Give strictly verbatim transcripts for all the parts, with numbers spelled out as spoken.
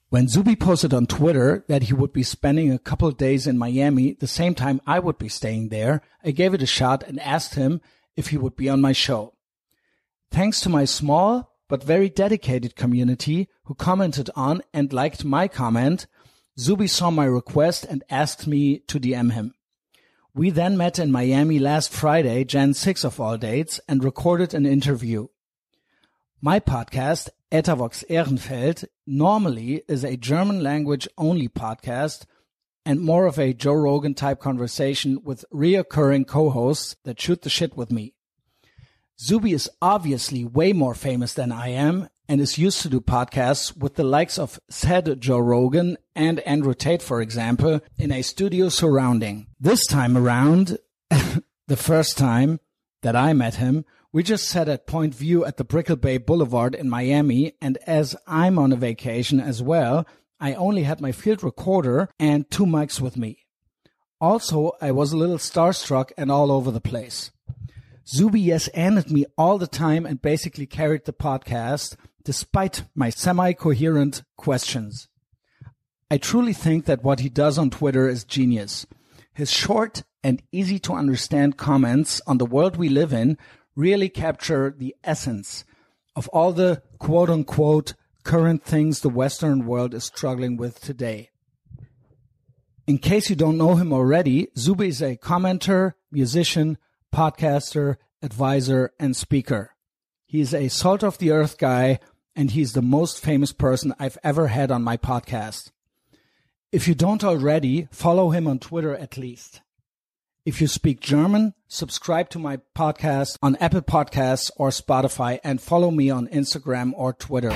When Zuby posted on Twitter that he would be spending a couple of days in Miami, the same time I would be staying there, I gave it a shot and asked him if he would be on my show. Thanks to my small but very dedicated community who commented on and liked my comment, Zuby saw my request and asked me to D M him. We then met in Miami last Friday, January sixth of all dates, and recorded an interview. My podcast, Etavox Ehrenfeld, normally is a German language only podcast and more of a Joe Rogan type conversation with reoccurring co-hosts that shoot the shit with me. Zuby is obviously way more famous than I am and is used to do podcasts with the likes of said Joe Rogan and Andrew Tate, for example, in a studio surrounding. This time around, the first time that I met him, we just sat at Point View at the Brickell Bay Boulevard in Miami, and as I'm on a vacation as well, I only had my field recorder and two mics with me. Also, I was a little starstruck and all over the place. Zuby yes-anded me all the time and basically carried the podcast, despite my semi-coherent questions. I truly think that what he does on Twitter is genius. His short and easy-to-understand comments on the world we live in really capture the essence of all the quote-unquote current things the Western world is struggling with today. In case you don't know him already, Zuby is a commenter, musician, podcaster, advisor, and speaker. He is a salt-of-the-earth guy, and he's the most famous person I've ever had on my podcast. If you don't already, follow him on Twitter at least. If you speak German, subscribe to my podcast on Apple Podcasts or Spotify and follow me on Instagram or Twitter.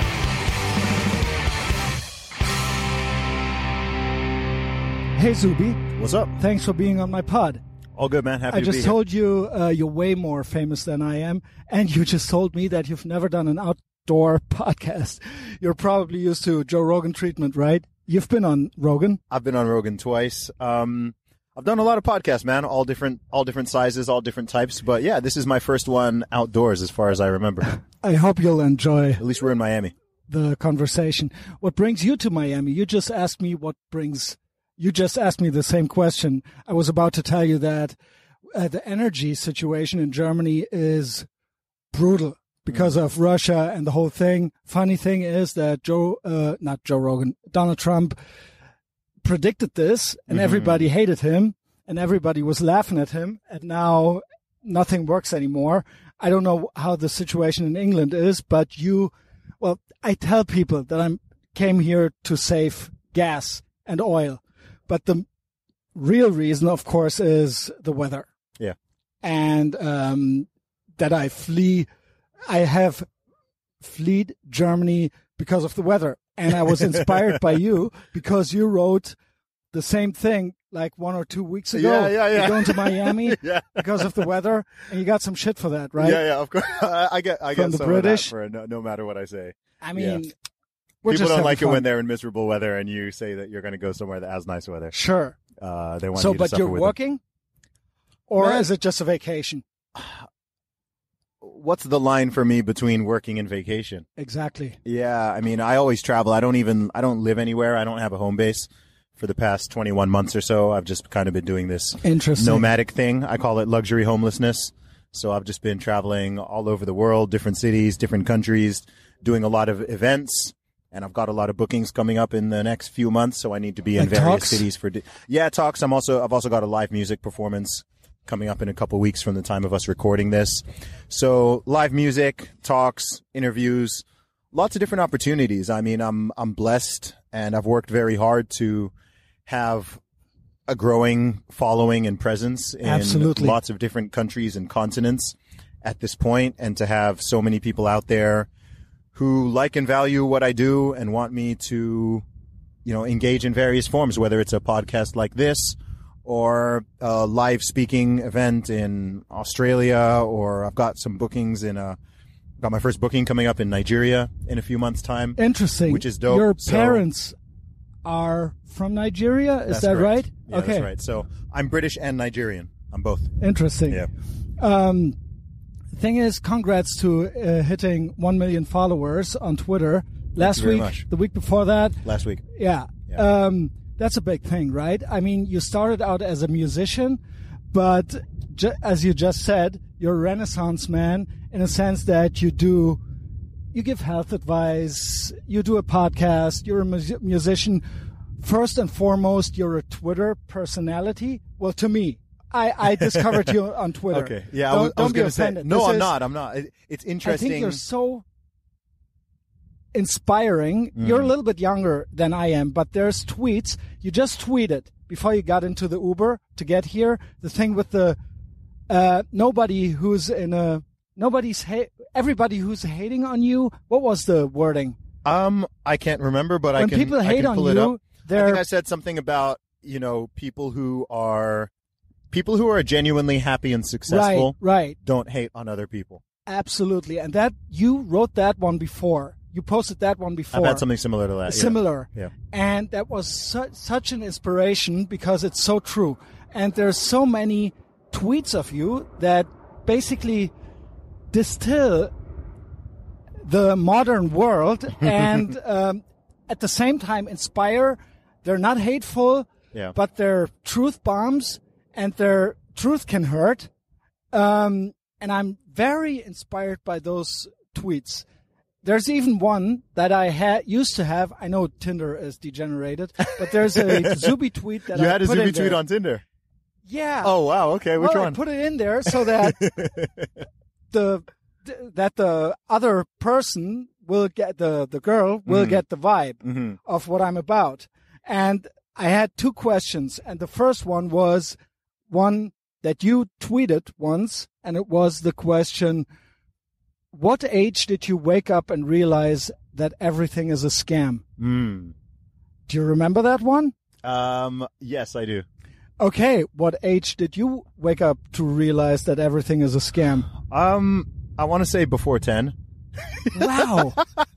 Hey Zuby. What's up? Thanks for being on my pod. All good, man. Happy I to be just here. told you uh, you're way more famous than I am, and you just told me that you've never done an outdoor podcast. You're probably used to Joe Rogan treatment, right? You've been on Rogan. I've been on Rogan twice. Um, I've done a lot of podcasts, man. All different, all different sizes, all different types. But yeah, this is my first one outdoors, as far as I remember. I hope you'll enjoy. At least we're in Miami. The conversation. What brings you to Miami? You just asked me what brings. You just asked me the same question. I was about to tell you that uh, the energy situation in Germany is brutal because mm. of Russia and the whole thing. Funny thing is that Joe, uh, not Joe Rogan, Donald Trump predicted this, and mm-hmm. everybody hated him, and everybody was laughing at him, and now nothing works anymore. I don't know how the situation in England is, but you, well, I tell people that I came here to save gas and oil, but the real reason, of course, is the weather. Yeah. And um, that I flee, I have fled Germany because of the weather. And I was inspired by you because you wrote the same thing like one or two weeks ago. Yeah, yeah, yeah. You're going to Miami yeah. because of the weather, and you got some shit for that, right? Yeah, yeah, of course. I, I get, I From get the some British. of that for no, no matter what I say. I mean, yeah. we're people just don't like fun. it when they're in miserable weather, and you say that you're going to go somewhere that has nice weather. Sure. Uh, they want so, you to but suffer you're with working, them. or Man. is it just a vacation? What's the line for me between working and vacation? Exactly. Yeah, I mean, I always travel. I don't even, I don't live anywhere. I don't have a home base for the past twenty-one months or so. I've just kind of been doing this Interesting. nomadic thing. I call it luxury homelessness. So I've just been traveling all over the world, different cities, different countries, doing a lot of events. And I've got a lot of bookings coming up in the next few months. So I need to be in Like various talks? cities for, di- yeah, talks. I'm also, I've also got a live music performance coming up in a couple weeks from the time of us recording this. So live music, talks, interviews, lots of different opportunities. I mean, I'm I'm blessed, and I've worked very hard to have a growing following and presence in Absolutely. lots of different countries and continents at this point, and to have so many people out there who like and value what I do and want me to, you know, engage in various forms, whether it's a podcast like this, or a live speaking event in Australia, or I've got some bookings in a, got my first booking coming up in Nigeria in a few months' time. Interesting. Which is dope. Your So- parents are from Nigeria, is That's that correct. right? Yeah, okay. that's right. So I'm British and Nigerian. I'm both. Interesting. Yeah. Um, thing is, congrats to uh, hitting one million followers on Twitter. last you very week, much. the week before that. Last week. Yeah. Yeah. Um, that's a big thing, right? I mean, you started out as a musician, but ju- as you just said, you're a Renaissance man in a sense that you do, you give health advice, you do a podcast, you're a mu- musician. First and foremost, you're a Twitter personality. Well, to me, I, I discovered you on Twitter. Okay. Yeah, don't, I was, I don't was be going to say. offended. No, This I'm is- not. I'm not. It, it's interesting. I think you're so inspiring. Mm. You're a little bit younger than I am, but there's tweets. You just tweeted before you got into the Uber to get here. The thing with the uh, nobody who's in a nobody's ha- everybody who's hating on you. What was the wording? Um, I can't remember, but when I can. people hate I can on pull it you, up. they're I think I said something about you know people who are people who are genuinely happy and successful. right, right. Don't hate on other people. Absolutely, and that you wrote that one before. You posted that one before. I've had something similar to that. Similar. Yeah. And that was su- such an inspiration because it's so true. And there's so many tweets of you that basically distill the modern world and um, at the same time inspire. They're not hateful, Yeah. but they're truth bombs and their truth can hurt. Um, and I'm very inspired by those tweets. There's even one that I had used to have. I know Tinder is degenerated, but there's a Zuby tweet that you I had a put Zuby in tweet there. on Tinder. Yeah. Oh wow. Okay. Which well, one? I put it in there so that the that the other person will get the the girl will Mhm. get the vibe Mm-hmm. of what I'm about. And I had two questions, and the first one was one that you tweeted once, and it was the question: what age did you wake up and realize that everything is a scam? Mm. Do you remember that one? Um. Yes, I do. Okay, what age did you wake up to realize that everything is a scam? Um. I want to say before ten. Wow.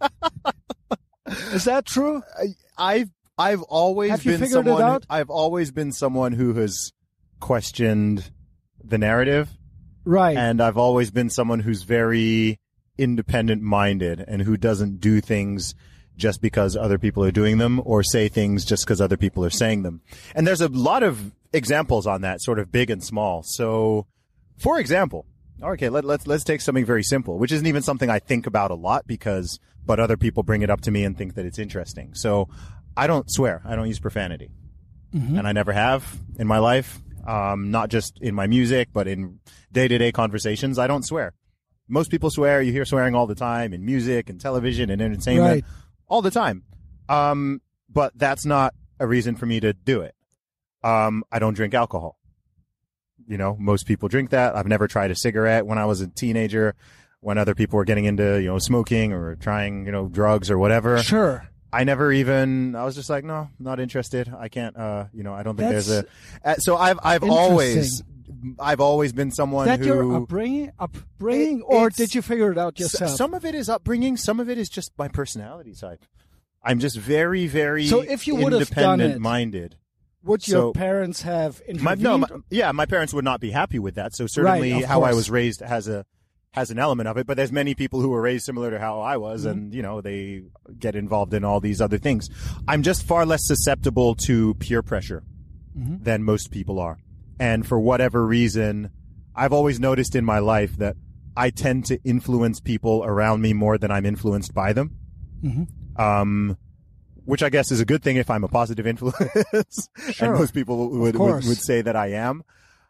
Is that true? I, I've I've always Have you been figured it someone. out? I've always been someone who has questioned the narrative, Right. and I've always been someone who's very independent minded and who doesn't do things just because other people are doing them or say things just because other people are saying them. And there's a lot of examples on that, sort of big and small. So, for example, okay, let, let's let's take something very simple, which isn't even something I think about a lot because, but other people bring it up to me and think that it's interesting. So, I don't swear. I don't use profanity, Mhm. and I never have in my life. Um, not just in my music, but in day-to-day conversations, I don't swear. Most people swear. You hear swearing all the time in music and television and entertainment, Right. all the time. Um, but that's not a reason for me to do it. Um, I don't drink alcohol. You know, most people drink that. I've never tried a cigarette when I was a teenager, when other people were getting into, you know, smoking or trying, you know, drugs or whatever. Sure. I never even, I was just like, no, not interested. I can't, uh, you know, I don't think That's there's a, uh, so I've, I've always, I've always been someone Is that who. your upbringing, upbringing It- or it's- did you figure it out S- yourself? Some of it is upbringing. Some of it is just my personality type. I'm just very, very So if you would have done independent it, minded. Would your so- parents have My, intervened? no, my, yeah, my parents would not be happy with that. So certainly Right, of how I course. was raised has a, has an element of it, but there's many people who were raised similar to how I was, Mm-hmm. and you know they get involved in all these other things. I'm just far less susceptible to peer pressure Mhm. than most people are, and for whatever reason, I've always noticed in my life that I tend to influence people around me more than I'm influenced by them. Mhm. Um, which I guess is a good thing if I'm a positive influence, Sure. and most people would, would course. would say that I am.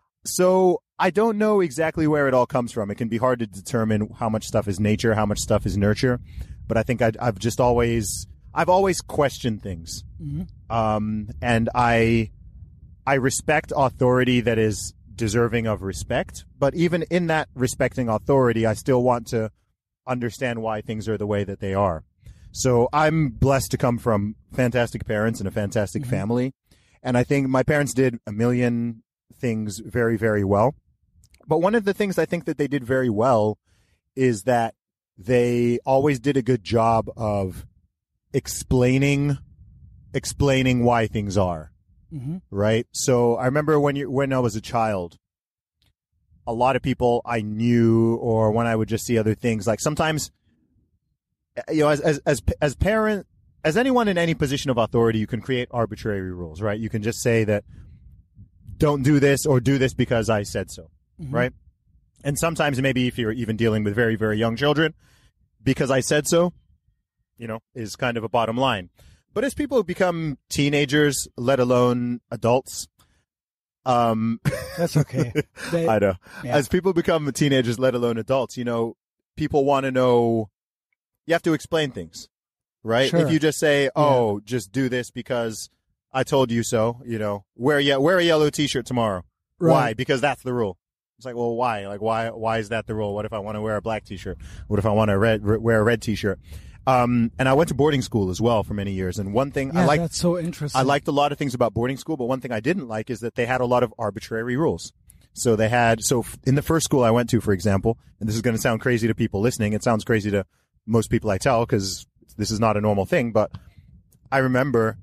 So I don't know exactly where it all comes from. It can be hard to determine how much stuff is nature, how much stuff is nurture. But I think I, I've just always, I've always questioned things. Mhm. Um, and I, I respect authority that is deserving of respect. But even in that respecting authority, I still want to understand why things are the way that they are. So I'm blessed to come from fantastic parents and a fantastic Mhm. family. And I think my parents did a million things very, very well. But one of the things I think that they did very well is that they always did a good job of explaining explaining why things are, Mhm. right? So I remember when you when I was a child, a lot of people I knew, or when I would just see other things, like sometimes you know, as as as as parent, as anyone in any position of authority, you can create arbitrary rules, right? You can just say that don't do this or do this because I said so, mm-hmm. right? And sometimes maybe if you're even dealing with very, very young children, because I said so, you know, is kind of a bottom line. But as people become teenagers, let alone adults, um, that's okay. They, I know. Yeah. As people become teenagers, let alone adults, you know, people want to know, you have to explain things, right? Sure. If you just say, oh, yeah. just do this because I told you so, you know, wear, ye- wear a yellow t-shirt tomorrow. Right. Why? Because that's the rule. It's like, well, why? Like, why, why is that the rule? What if I want to wear a black t-shirt? What if I want to red, wear a red t-shirt? Um, and I went to boarding school as well for many years. And one thing yeah, I liked, that's so interesting. I liked a lot of things about boarding school, but one thing I didn't like is that they had a lot of arbitrary rules. So they had, so in the first school I went to, for example, and this is going to sound crazy to people listening. It sounds crazy to most people I tell because this is not a normal thing, but I remember,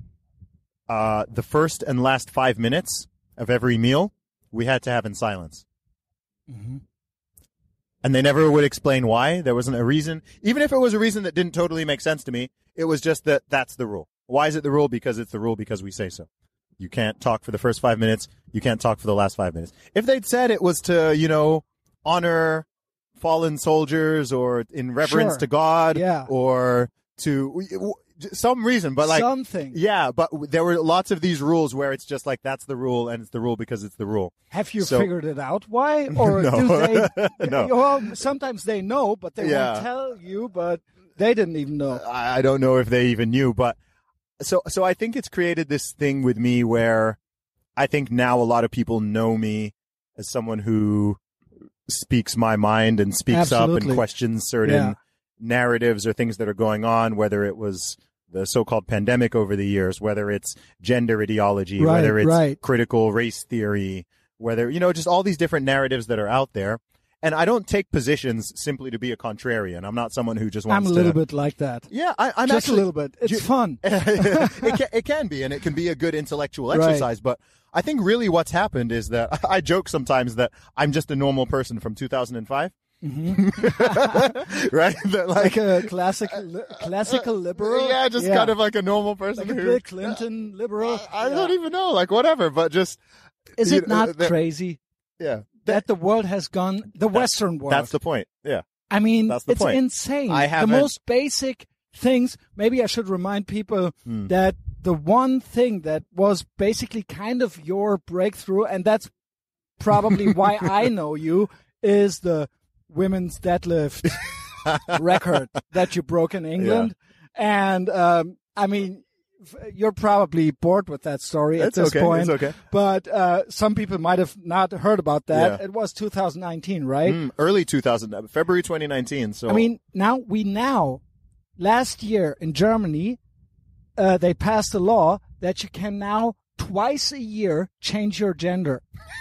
uh, the first and last five minutes of every meal we had to have in silence. Mm-hmm. And they never would explain why. There wasn't a reason. Even if it was a reason that didn't totally make sense to me, it was just that that's the rule. Why is it the rule? Because it's the rule because we say so. You can't talk for the first five minutes. You can't talk for the last five minutes. If they'd said it was to, you know, honor fallen soldiers or in reverence sure. to God yeah. or to some reason, but like something. Yeah, but there were lots of these rules where it's just like that's the rule and it's the rule because it's the rule. Have you so, figured it out why? Or no. do they no. Well, sometimes they know, but they yeah. won't tell you, but they didn't even know. I don't know if they even knew, but so so I think it's created this thing with me where I think now a lot of people know me as someone who speaks my mind and speaks Absolutely. up and questions certain yeah. narratives or things that are going on, whether it was the so-called pandemic over the years, whether it's gender ideology, right, whether it's right. critical race theory, whether, you know, just all these different narratives that are out there. And I don't take positions simply to be a contrarian. I'm not someone who just wants to... I'm a little to, bit like that. Yeah, I, I'm just actually... a little bit. It's you, fun. it, can, it can be, and it can be a good intellectual exercise, right. but I think really what's happened is that I joke sometimes that I'm just a normal person from two thousand five. Mm-hmm. right? That, like, like a classic, li- classical liberal? Yeah, just yeah. kind of like a normal person. Like a who, Bill Clinton uh, liberal? I, I yeah. don't even know, like whatever, but just... Is it know, not that, crazy? Yeah. That the world has gone, the Western world. That's the point, yeah. I mean, that's the it's point. insane. I the most basic things, maybe I should remind people hmm. that the one thing that was basically kind of your breakthrough, and that's probably why I know you, is the women's deadlift record that you broke in England. Yeah. And, um, I mean, you're probably bored with that story it's at this okay. point. It's okay. But uh, some people might have not heard about that. Yeah. It was two thousand nineteen, right? Mm, early two thousand, February twenty nineteen. So I mean, now we now, last year in Germany, uh, they passed a law that you can now twice a year change your gender,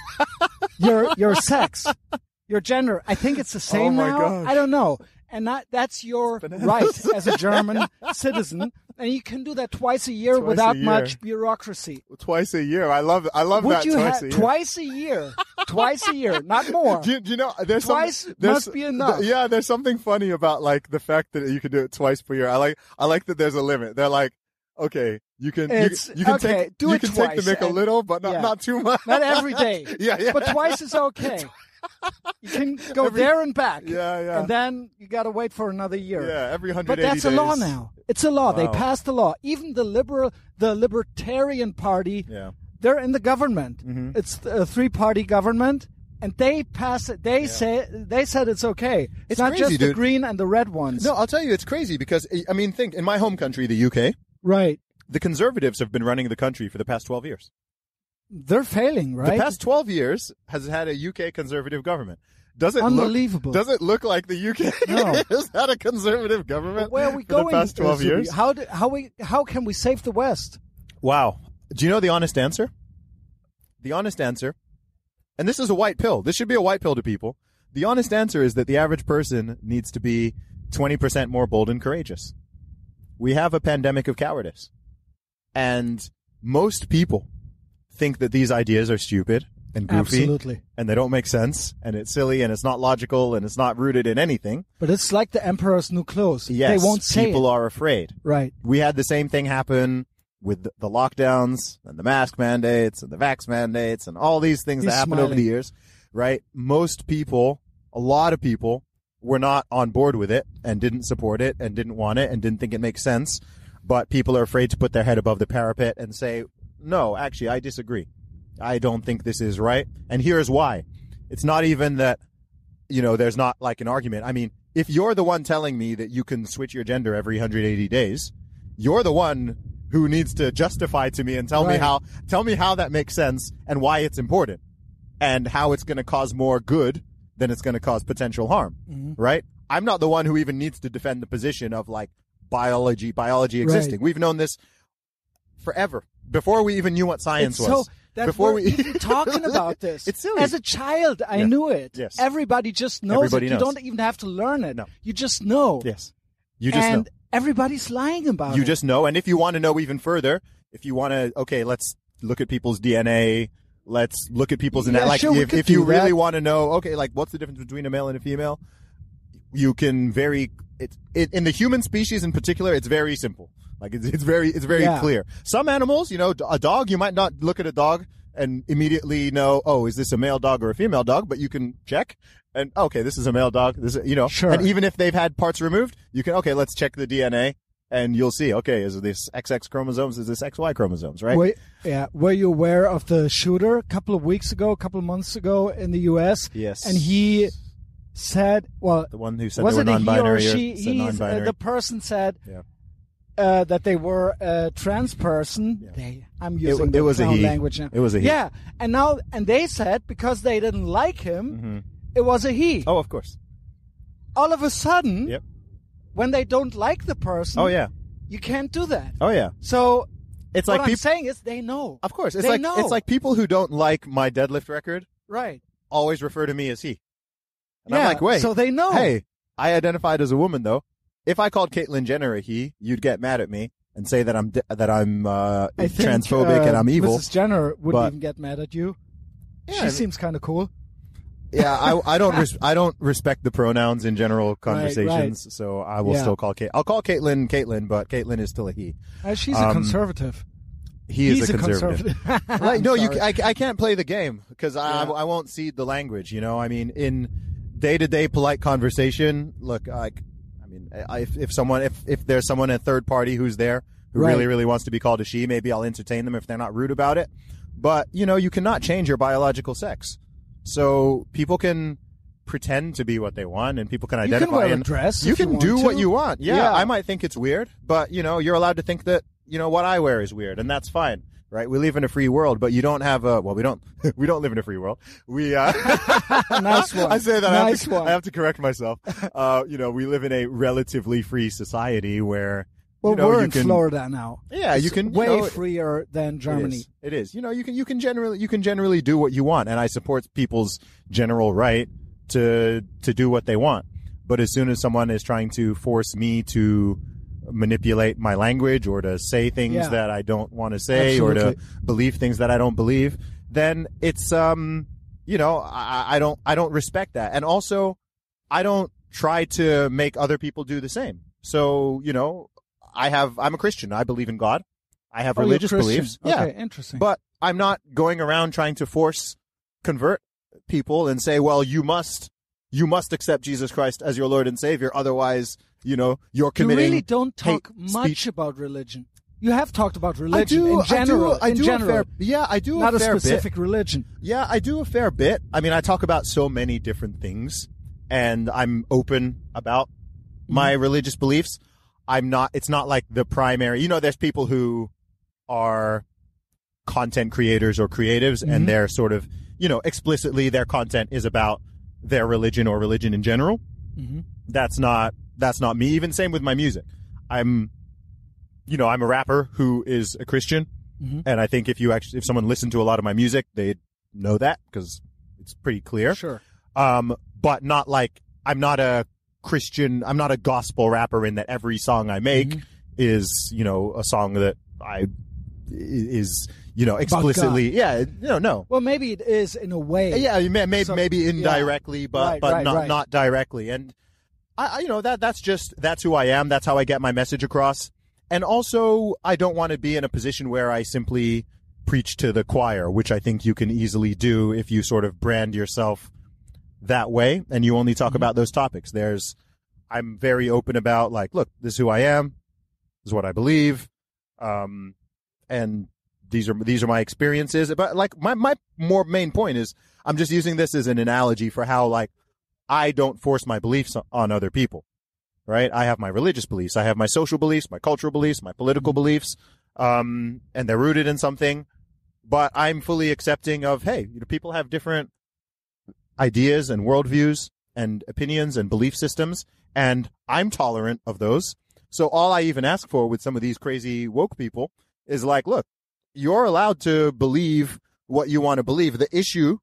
your your sex, your gender. I think it's the same oh my now. Gosh. I don't know. And that, that's your right as a German citizen. And you can do that twice a year twice without a year. much bureaucracy. Twice a year. I love I love Would that you twice ha- a year. Twice a year. Twice a year, not more. Do you, do you know, there's twice some, there's, must be enough. Th- yeah, there's something funny about like the fact that you can do it twice per year. I like I like that there's a limit. They're like, okay, you can it's, you, you can okay, take do you it can twice take the mick a little, but not yeah. not too much. Not every day. yeah, yeah. But twice is okay. You can go every, there and back. Yeah, yeah. And then you got to wait for another year. Yeah, every one hundred eighty days. But that's days. a law now. It's a law. Wow. They passed a law. Even the liberal, the Libertarian Party, yeah. they're in the government. Mm-hmm. It's a three-party government, and they pass it. They yeah. say they said it's okay. It's, it's not crazy, just dude. the green and the red ones. No, I'll tell you, it's crazy because I mean, think in my home country, the U K. Right. The Conservatives have been running the country for the past twelve years. They're failing, right? The past twelve years has had a U K Conservative government. Does it Unbelievable. Look, does it look like the U K no. has had a conservative government Where are we for going the past twelve uh, years? How, do, how, we, how can we save the West? Wow. Do you know the honest answer? The honest answer, and this is a white pill. This should be a white pill to people. The honest answer is that the average person needs to be twenty percent more bold and courageous. We have a pandemic of cowardice. And most people think that these ideas are stupid and goofy. Absolutely. And they don't make sense, and it's silly, and it's not logical, and it's not rooted in anything. But it's like the emperor's new clothes. Yes, they won't say people it. are afraid. Right. We had the same thing happen with the lockdowns and the mask mandates and the vax mandates and all these things He's that happened smiling. over the years, right? Most people, a lot of people, were not on board with it and didn't support it and didn't want it and didn't think it makes sense. But people are afraid to put their head above the parapet and say, no, actually, I disagree. I don't think this is right. And here's why. It's not even that, you know, there's not like an argument. I mean, if you're the one telling me that you can switch your gender every one hundred eighty days, you're the one who needs to justify to me and tell Right. me how, tell me how that makes sense and why it's important and how it's going to cause more good than it's going to cause potential harm, Mm-hmm. right? I'm not the one who even needs to defend the position of like biology, biology existing. Right. We've known this forever before we even knew what science It's was. so that before we're we even talking about this. It's silly. As a child, I Yeah. knew it. Yes. Everybody just knows Everybody it. knows. You don't even have to learn it. No. You just know. Yes. You just and know. everybody's lying about You it. just know. And if you want to know even further, if you want to, okay, let's look at people's D N A. Let's look at people's, Yeah, like, sure, we if, could if you do really that. want to know, okay, like, what's the difference between a male and a female? You can very, it, it, in the human species in particular, it's very simple. Like, it's, it's very, it's very Yeah. clear. Some animals, you know, a dog, you might not look at a dog and immediately know, oh, is this a male dog or a female dog? But you can check and, okay, this is a male dog. This is, you know, Sure. and even if they've had parts removed, you can, okay, let's check the D N A. And you'll see, okay, is this X X chromosomes? Is this X Y chromosomes, right? Were, yeah. Were you aware of the shooter a couple of weeks ago, a couple of months ago in the U S? Yes. And he said, well, The one who said was they it were a he or non-binary. she? said He's, uh, non-binary. the person said Yeah. uh, that they were a trans person. Yeah. They, I'm using it the was a clown he. language now. It was a he. Yeah, and now and they said because they didn't like him, hmm it was a he. Oh, of course. All of a sudden, Yep. when they don't like the person, Oh, yeah. you can't do that. Oh, yeah. So It's what like I'm people. saying is they know. Of course, it's They like know. it's like people who don't like my deadlift record Right. always refer to me as he. And yeah. I'm like, wait. So they know. Hey, I identified as a woman though. If I called Caitlyn Jenner a he, you'd get mad at me and say that I'm di- that I'm uh, I think, transphobic uh, and I'm evil. Missus Jenner wouldn't but- even get mad at you. Yeah, she I mean- seems kind of cool. Yeah, I, I don't res- I don't respect the pronouns in general conversations, right. so I will Yeah. still call Kate. I'll call Caitlyn Caitlyn, but Caitlyn is still a he. Uh, she's a Um, conservative. He is He's a conservative. conservative. Like, no, you Sorry. I, I can't play the game because I Yeah. I won't cede the language. You know, I mean, in day to day polite conversation, look, like, I mean, I, if if someone if if there's someone a third party who's there who Right. really really wants to be called a she, maybe I'll entertain them if they're not rude about it. But you know, you cannot change your biological sex, so people can pretend to be what they want, and people can You identify can wear a and dress. you if can want do to. what you want. Yeah, Yeah. I might think it's weird, but you know, you're allowed to think that, you know, what I wear is weird, and that's fine, right? We live in a free world, but you don't have a, well, we don't, we don't live in a free world. We, uh, Nice one. I say that, I, have Nice to, one. I have to correct myself. Uh, you know, we live in a relatively free society where, Well, you know, we're you in can, Florida now. yeah, you It's can, you way know, freer than It Germany. is. It is. You know, you can, you can generally, you can generally do what you want, and I support people's general right to, to do what they want. But as soon as someone is trying to force me to manipulate my language or to say things Yeah. that I don't want to say or Absolutely. to believe things that I don't believe, then it's, um, you know, I, I don't, I don't respect that. And also, I don't try to make other people do the same. So, you know, I have, I'm a Christian. I believe in God. I have Oh, you're religious Christian. beliefs. Okay, Yeah. interesting. But I'm not going around trying to force convert people and say, well, you must, you must accept Jesus Christ as your Lord and Savior. Otherwise, you know, you're you committing. really don't talk hate much speech. about religion. You have talked about I religion do, in general. I do, I in do general, a fair, yeah, I do not a a fair specific bit. religion. Yeah, I do a fair bit. I mean, I talk about so many different things, and I'm open about my religious beliefs. I'm not, it's not like the primary, you know, there's people who are content creators or creatives, Mhm. and they're sort of, you know, explicitly their content is about their religion or religion in general. Mm-hmm. That's not, that's not me. Even same with my music. I'm, you know, I'm a rapper who is a Christian. Mm-hmm. And I think if you actually, if someone listened to a lot of my music, they'd know that because it's pretty clear. Sure. Um, but not like, I'm not a Christian, I'm not a gospel rapper in that every song I make Mhm. is, you know, a song that I is, you know, explicitly, yeah, no, no. Well, maybe it is in a way. Yeah, maybe, So- maybe indirectly, yeah. but, Right, but right, not, right. not directly. And I, I, you know, that, that's just, that's who I am. That's how I get my message across. And also, I don't want to be in a position where I simply preach to the choir, which I think you can easily do if you sort of brand yourself that way and you only talk Mm-hmm. about those topics. There's, I'm very open about, like, look, this is who I am. This is what I believe. Um, and these are, these are my experiences. But like my, my more main point is I'm just using this as an analogy for how, like, I don't force my beliefs on other people, right? I have my religious beliefs. I have my social beliefs, my cultural beliefs, my political beliefs. Um, and they're rooted in something, but I'm fully accepting of, hey, you know, people have different ideas and worldviews and opinions and belief systems, and I'm tolerant of those. So all I even ask for with some of these crazy woke people is like, look, you're allowed to believe what you want to believe. The issue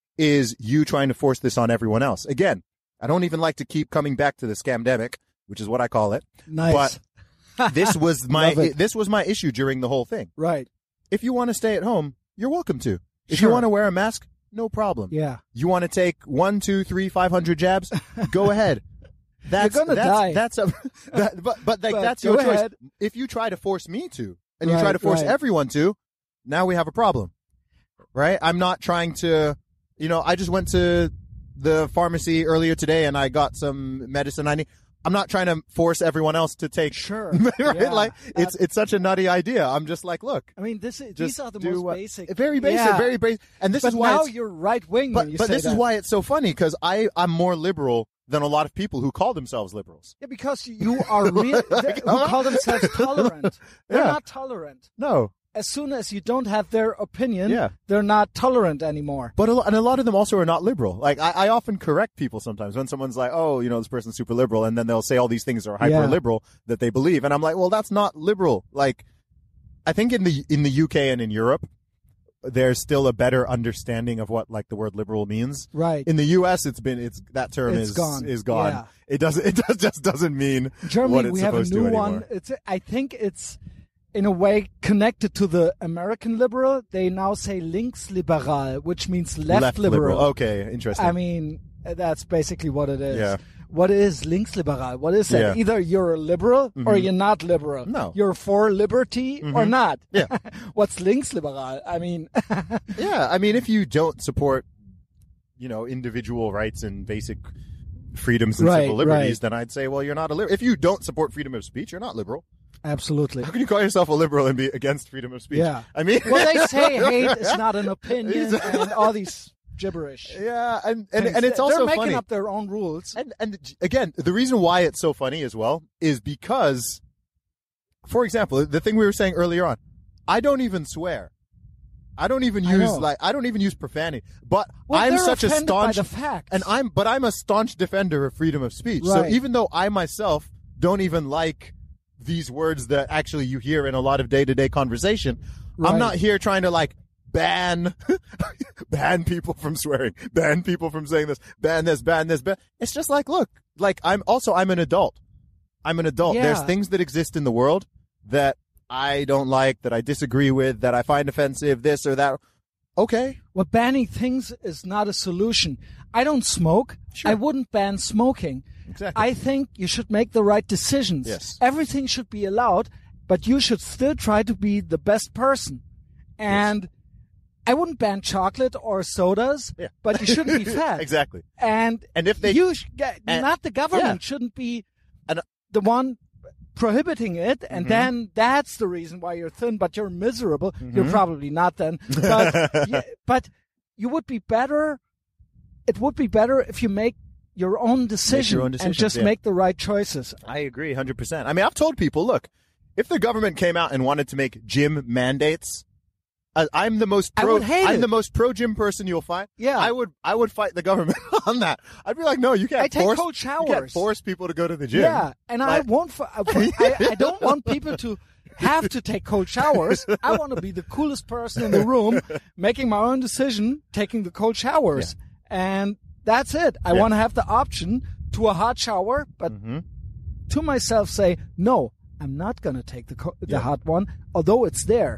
is you trying to force this on everyone else. Again, I don't even like to keep coming back to the scamdemic, which is what I call it. Nice. But this was my Love it. this was my issue during the whole thing. Right. If you want to stay at home, you're welcome to. If Sure. you want to wear a mask, no problem. Yeah. You want to take one, two, three, five hundred jabs? Go ahead. That's You're gonna that's, die. That's a, that, but but like But that's go your choice. ahead. If you try to force me to, and you Right, try to force right. everyone to, now we have a problem, right? I'm not trying to, you know. I just went to the pharmacy earlier today and I got some medicine I need. I'm not trying to force everyone else to take. Sure. right? Yeah. Like it's it's such a nutty idea. I'm just like, look, I mean, this is, just these are the do most what- basic. very basic, Yeah. very basic. And this But is why now it's, you're right wing when but you but say this is that. why it's so funny because I I'm more liberal than a lot of people who call themselves liberals. Yeah, because you are real. Like, who call themselves tolerant? They're Yeah. not tolerant. No, As soon as you don't have their opinion, Yeah. they're not tolerant anymore. but a, lo- and a lot of them also are not liberal. Like I, I often correct people sometimes when someone's like, "Oh, you know, this person's super liberal," and then they'll say all these things are hyper liberal that they believe, and I'm like, "Well, that's not liberal." Like, I think in the in the U K and in Europe, there's still a better understanding of what like the word liberal means. Right. In the U S, it's been it's that term It's is gone. is gone. Yeah. It doesn't it does, just doesn't mean Germany, what it's we have a supposed new to one. anymore. It's I think it's in a way connected to the American liberal. They now say linksliberal, which means left, liberal. Okay, interesting. I mean, that's basically what it is. Yeah. What is linksliberal? What is that? Yeah. Either you're a liberal or you're not liberal. No. You're for liberty or not. Yeah. What's linksliberal? I mean, Yeah, I mean, if you don't support, you know, individual rights and basic freedoms and Right, civil liberties, right. then I'd say, well, you're not a liberal. If you don't support freedom of speech, you're not liberal. absolutely. How can you call yourself a liberal and be against freedom of speech? Yeah. I mean, Well, they say hate is not an opinion Exactly. and all these gibberish. yeah, and and, things. and it's They're also making funny. up their own rules. And and again, the reason why it's so funny as well is because, for example, the thing we were saying earlier on, I don't even swear. I don't even I use know. like I don't even use profanity. But Well, I'm they're such a offended by staunch the facts. and I'm but I'm a staunch defender of freedom of speech. So Right. even though I myself don't even like these words that actually you hear in a lot of day-to-day conversation, Right. I'm not here trying to like ban ban people from swearing, ban people from saying this, ban this, ban this, ban. It's just like, look, like I'm also I'm an adult. I'm an adult. Yeah. There's things that exist in the world that I don't like, that I disagree with, that I find offensive, this or that. Okay. Well, banning things is not a solution. I don't smoke. Sure. I wouldn't ban smoking. Exactly. I think you should make the right decisions. Yes. Everything should be allowed, but you should still try to be the best person. And I wouldn't ban chocolate or sodas, Yeah. but you shouldn't be fat. Exactly. And And if they you sh- and- not the government yeah. shouldn't be And- the one prohibiting it, and Mm-hmm. then that's the reason why you're thin, but you're miserable. Mm-hmm. You're probably not then, but yeah, but you would be better. It would be better if you make your own decision, own and decisions, just yeah. make the right choices. I agree one hundred percent. I mean, I've told people, look, if the government came out and wanted to make gym mandates, uh, I'm the most I pro would hate I'm it. the most pro gym person you'll find. Yeah. I would I would fight the government on that. I'd be like, no, you can't I take force cold you can't showers. force people to go to the gym. Yeah, and I Like- won't. f- I, I don't want people to have to take cold showers. I want to be the coolest person in the room, making my own decision, taking the cold showers, and that's it. I Yeah. want to have the option to a hot shower, but Mm-hmm. to myself say, no, I'm not going to take the co- the Yeah. hot one, although it's there.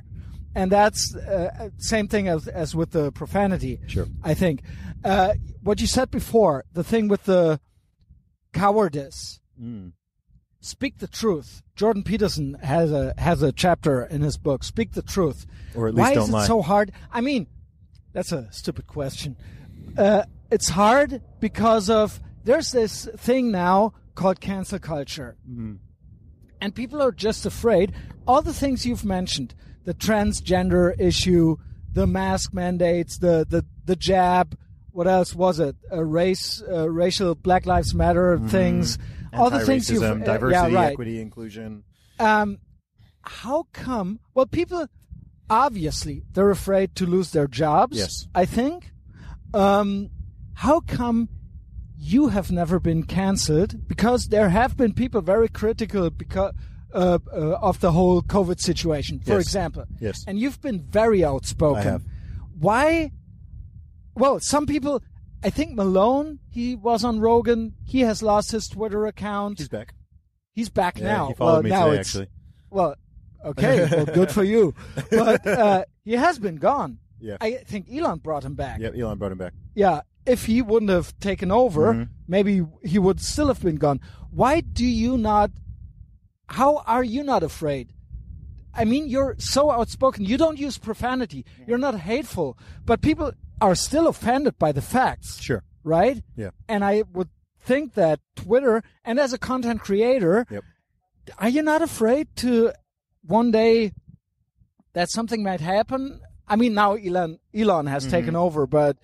And that's uh, same thing as as with the profanity. Sure. I think uh, what you said before, the thing with the cowardice. Mm. Speak the truth. Jordan Peterson has a has a chapter in his book. Speak the truth. Or at least Why don't is it lie. so hard? I mean, that's a stupid question. Uh, it's hard because of there's this thing now called cancel culture, Mm-hmm. and people are just afraid. All the things you've mentioned, the transgender issue, the mask mandates, the the the jab. What else was it? Uh, race, uh, racial Black Lives Matter Mm-hmm. things. All the things you've Anti-racism, uh, diversity, yeah, right. equity, inclusion. Um, how come? Well, people obviously they're afraid to lose their jobs. Yes. I think. Um, how come you have never been cancelled? Because there have been people very critical because uh, uh, of the whole COVID situation, for Yes. example. Yes. And you've been very outspoken. I have. Why? Well, some people. I think Malone, he was on Rogan. He has lost his Twitter account. He's back. He's back Yeah, now. he followed well, me now today, it's, actually. Well, okay. Well, good for you. But uh, he has been gone. Yeah. I think Elon brought him back. Yep, Elon brought him back. Yeah. If he wouldn't have taken over, Mhm. maybe he would still have been gone. Why do you not? How are you not afraid? I mean, you're so outspoken. You don't use profanity. You're not hateful. But people are still offended by the facts. Sure. Right? Yeah. And I would think that Twitter, and as a content creator, Yep. are you not afraid to one day that something might happen? I mean, now Elon Elon has taken over, but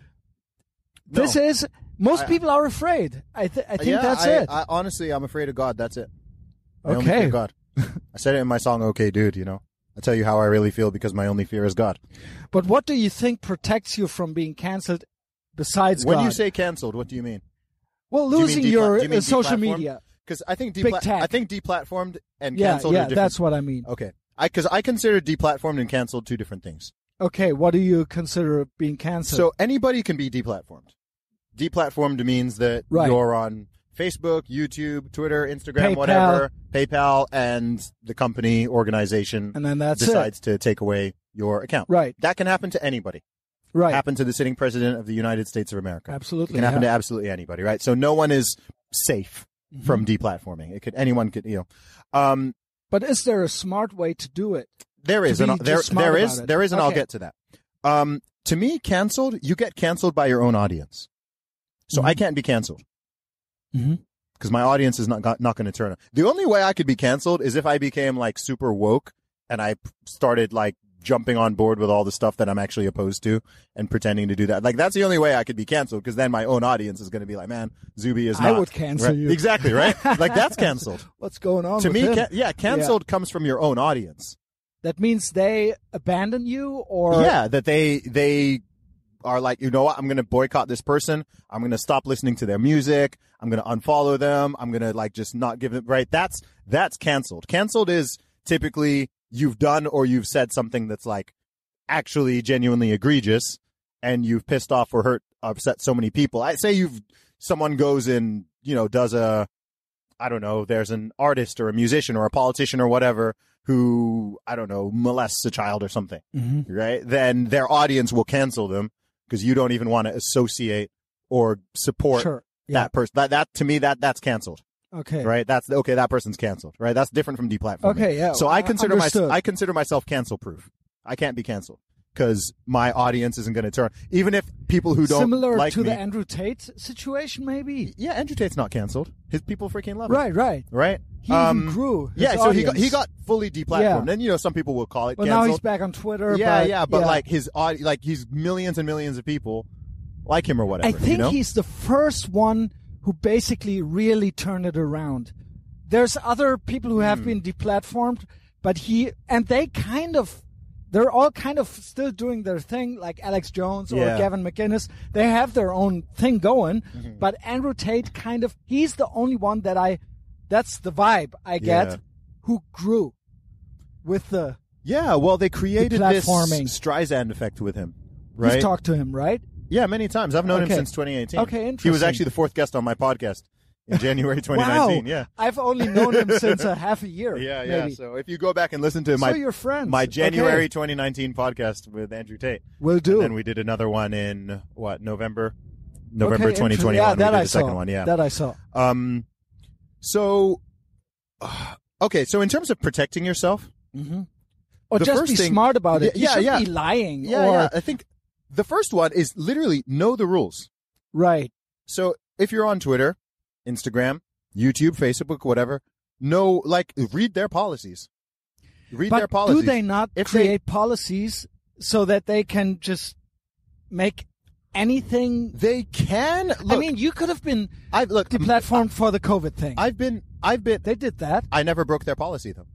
this No. is most I- people are afraid. I th- I think yeah, that's I, it. I, honestly, I'm afraid of God. That's it. I only Okay. fear God. I said it in my song, "Okay, Dude." You know, I tell you how I really feel because my only fear is God. But what do you think protects you from being canceled besides When God? you say canceled, what do you mean? well, do you mean losing depla- your do you mean uh, social deplatformed? media. Because I think Big depla- tech. I think deplatformed and Yeah, canceled yeah, are different. that's what I mean. Okay, I because I consider deplatformed and canceled two different things. Okay, what do you consider being canceled? So anybody can be deplatformed. Deplatformed means that Right. you're on Facebook, YouTube, Twitter, Instagram, PayPal. whatever, PayPal, and the company organization and then that's decides to take away your account. it. Right, That can happen to anybody. right. Happen to the sitting president of the United States of America. Absolutely. It can happen yeah. to absolutely anybody, right? So no one is safe Mm-hmm. from deplatforming. It could anyone could you know. Um, But is there a smart way to do it? There is, To and be there just smart there about is, it. there is, and I'll Okay. get to that. Um, to me, canceled, you get canceled by your own audience. So Mhm. I can't be canceled Mm-hmm. because my audience is not got- not going to turn on. The only way I could be canceled is if I became like super woke and I p- started like jumping on board with all the stuff that I'm actually opposed to and pretending to do that. Like that's the only way I could be canceled because then my own audience is going to be like, man, Zuby is I not. would cancel Right? you. Exactly, right? Like that's canceled. What's going on To with me, him? ca- yeah, canceled comes from your own audience. That means they abandon you, or Yeah, that they they are like, you know what, I'm going to boycott this person. I'm going to stop listening to their music. I'm going to unfollow them. I'm going to like just not give them, right? That's that's canceled. Canceled is typically you've done or you've said something that's like actually genuinely egregious and you've pissed off or hurt, upset so many people. I say you've someone goes and, you know, does a I don't know, there's an artist or a musician or a politician or whatever who, I don't know, molests a child or something, Mhm. right? Then their audience will cancel them because you don't even want to associate or support sure, yeah, that person. That, that, to me, that, that's canceled, okay, right? That's, okay, that person's canceled, right? That's different from deplatforming. okay, yeah. So I uh, consider understood. myself, I consider myself cancel proof. I can't be canceled because my audience isn't going to turn. Even if people who don't Similar like to me, the Andrew Tate situation, maybe. yeah, Andrew Tate's not canceled. His people freaking love it. Right, right. Right? He Um, even grew. His Yeah, so he got, audience. he got fully deplatformed. Yeah. And, you know, some people will call it Well, now he's canceled. back on Twitter. Yeah, but, yeah, but like his audi- like he's millions and millions of people like him or whatever. I think you know? he's the first one who basically really turned it around. There's other people who have Hmm. been deplatformed, but he and they kind of they're all kind of still doing their thing, like Alex Jones or Yeah. Gavin McInnes. They have their own thing going, Mm-hmm. but Andrew Tate kind of he's the only one that I that's the vibe I get Yeah. who grew with the Yeah, well, they created this Deplatforming. Streisand effect with him, right? You've talked to him, right? Yeah, many times. I've known Okay. him since twenty eighteen. Okay, He was interesting. actually the fourth guest on my podcast. in January twenty nineteen. Wow. Yeah. I've only known him since a half a year. Yeah, yeah. Maybe. So if you go back and listen to my so you're friends. my January Okay. twenty nineteen podcast with Andrew Tate, Will do. and then we did another one in what November, November Okay, twenty twenty interesting. Yeah, one. that we did I the saw. second one. Yeah. That I saw. Um. So, uh, okay. So in terms of protecting yourself, Mm-hmm. Or The just first be thing- smart about it. Yeah, You yeah, shouldn't yeah. be lying. yeah, or, yeah. I think the first one is literally know the rules. Right. So if you're on Twitter, Instagram, YouTube, Facebook, whatever, know, like, read their policies. Read But their policies. do they not If they- create policies so that they can just make anything? They can. Look, I mean, you could have been I've look. deplatformed for the COVID thing. I've been. I've been. they did that. I never broke their policy though.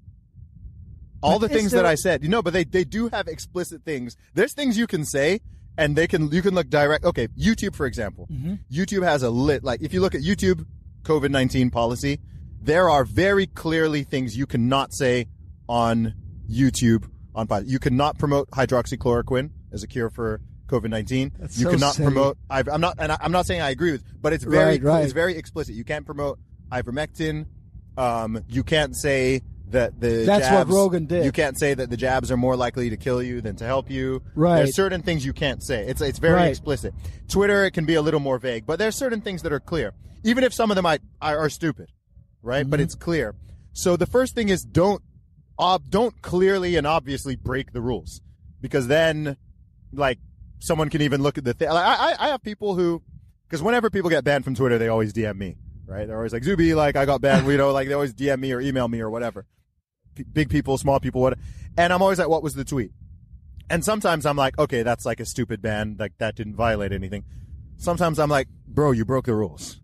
All But the is things there- that I said, you know, but they they do have explicit things. There's things you can say, and they can you can look direct. Okay, YouTube for example. Mm-hmm. YouTube has a lit like if you look at YouTube COVID nineteen policy, there are very clearly things you cannot say on YouTube on pod. You cannot promote hydroxychloroquine as a cure for COVID nineteen. That's You so cannot silly. promote. I've, I'm not, and I, I'm not saying I agree with, but it's very, Right, right. it's very explicit. You can't promote ivermectin. Um, you can't say that the That's what jabs, Rogan did. You can't say that the jabs are more likely to kill you than to help you. Right. There's certain things you can't say. It's it's very Right. explicit. Twitter, it can be a little more vague, but there's certain things that are clear, even if some of them I, are, are stupid, right? Mm-hmm. But it's clear. So the first thing is don't ob, don't clearly and obviously break the rules, because then, like, someone can even look at the thing. Like, I I I have people who, because whenever people get banned from Twitter, they always D M me, right? They're always like, Zuby, like I got banned, you know, like they always D M me or email me or whatever. P- big people, small people, what? And I'm always like, what was the tweet? And sometimes I'm like, okay, that's like a stupid ban, like that didn't violate anything. Sometimes I'm like, bro, you broke the rules,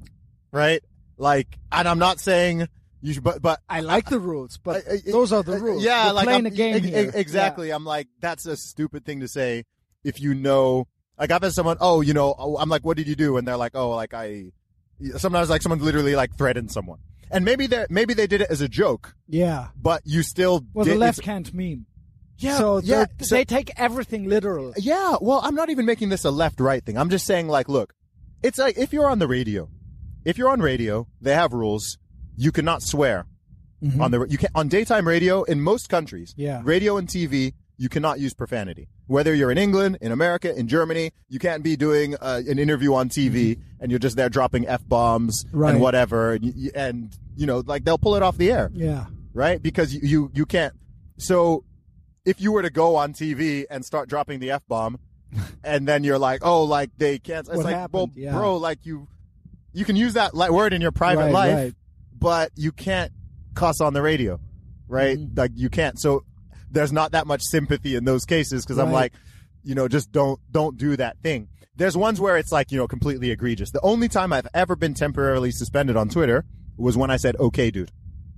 right? Like, and I'm not saying you should, but but I like the rules, but I- I- those are the uh, rules. Yeah, We're like playing I'm, a game e- e- here. exactly. I'm like, that's a stupid thing to say. If you know, like I've had someone, oh, you know, oh, I'm like, what did you do? And they're like, oh, like I, sometimes like someone literally like threatened someone, and maybe they maybe they did it as a joke, Yeah. yeah. but you still Well, did, the left it's- can't meme. Yeah, So yeah. they're- so- they take everything literal. Yeah, well, I'm not even making this a left-right thing. I'm just saying, like, look, it's like if you're on the radio, if you're on radio, they have rules. You cannot swear Mhm. on the you can on daytime radio in most countries. Yeah. Radio and T V, you cannot use profanity. Whether you're in England, in America, in Germany, you can't be doing uh, an interview on T V and you're just there dropping f bombs Right. and whatever, and, you, and you know, like they'll pull it off the air, Yeah. right? Because you you, you can't. So if you were to go on T V and start dropping the f bomb, and then you're like, oh, like they can't. It's What like, happened? well, Yeah. bro, like you, you can use that li- word in your private Right, life, right. but you can't cuss on the radio, right? Mhm. Like you can't. So there's not that much sympathy in those cases because I'm Right. like, you know, just don't don't do that thing. There's ones where it's like, you know, completely egregious. The only time I've ever been temporarily suspended on Twitter was when I said, "Okay, dude."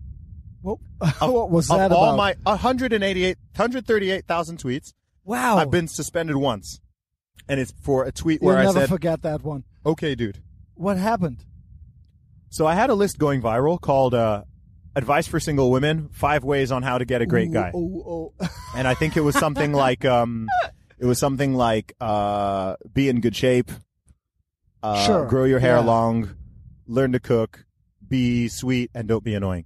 What, what was that of all about? my one hundred eighty-eight, one hundred thirty-eight thousand tweets, wow. I've been suspended once, and it's for a tweet You'll where I never said, forget that one. "Okay, dude." What happened? So I had a list going viral called uh, "Advice for Single Women: Five Ways on How to Get a Great Ooh, Guy," Oh, oh. and I think it was something like, um, it was something like, uh, "Be in good shape, uh, Sure. grow your hair Yeah. long, learn to cook, be sweet, and don't be annoying."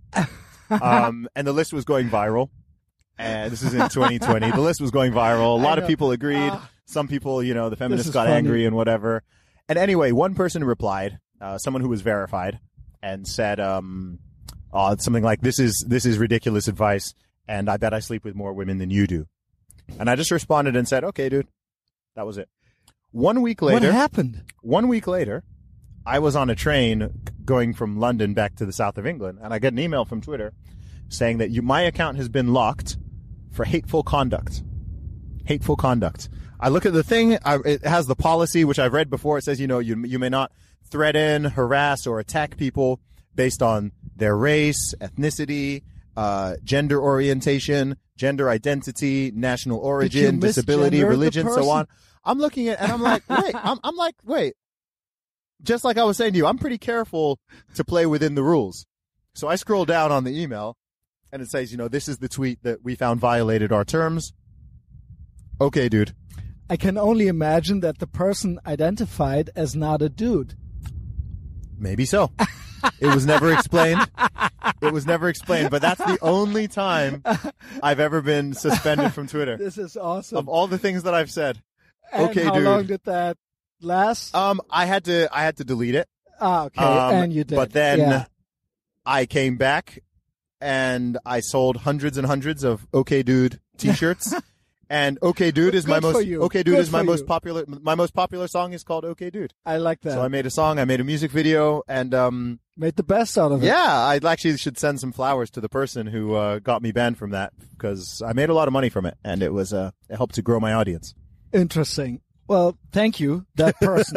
um, and the list was going viral. And this is in twenty twenty. The list was going viral. A lot I of know. people agreed. Ah. Some people, you know, the feminists is got funny. angry and whatever. And anyway, one person replied, uh, someone who was verified, and said, um, uh, something like, "This is this is ridiculous advice, and I bet I sleep with more women than you do." And I just responded and said, "Okay, dude." That was it. One week What later, happened? one week later, I was on a train going from London back to the south of England, and I get an email from Twitter saying that you, my account has been locked for hateful conduct. Hateful conduct. I look at the thing. I, it has the policy, which I've read before. It says, you know, you you may not threaten, harass, or attack people based on their race, ethnicity, uh, gender orientation, gender identity, national origin, disability, misgender the religion, so person? on. I'm looking at, and I'm like, wait, I'm, I'm like, wait. Just like I was saying to you, I'm pretty careful to play within the rules. So I scroll down on the email, and it says, you know, this is the tweet that we found violated our terms. Okay, dude. I can only imagine that the person identified as not a dude. Maybe so. It was never explained. It was never explained, but that's the only time I've ever been suspended from Twitter. This is awesome. Of all the things that I've said. And okay, how dude. long did that last? Um, I had to, I had to delete it. Ah, okay, Um, and you did. But then yeah. I came back and I sold hundreds and hundreds of OK Dude t-shirts. And OK Dude is my Good for most you. OK Dude Good is my for most you. popular my most popular song is called OK Dude. I like that. So I made a song, I made a music video, and um Made the best out of it. yeah, I actually should send some flowers to the person who uh, got me banned from that because I made a lot of money from it and it was uh it helped to grow my audience. Interesting. Well, thank you, that person.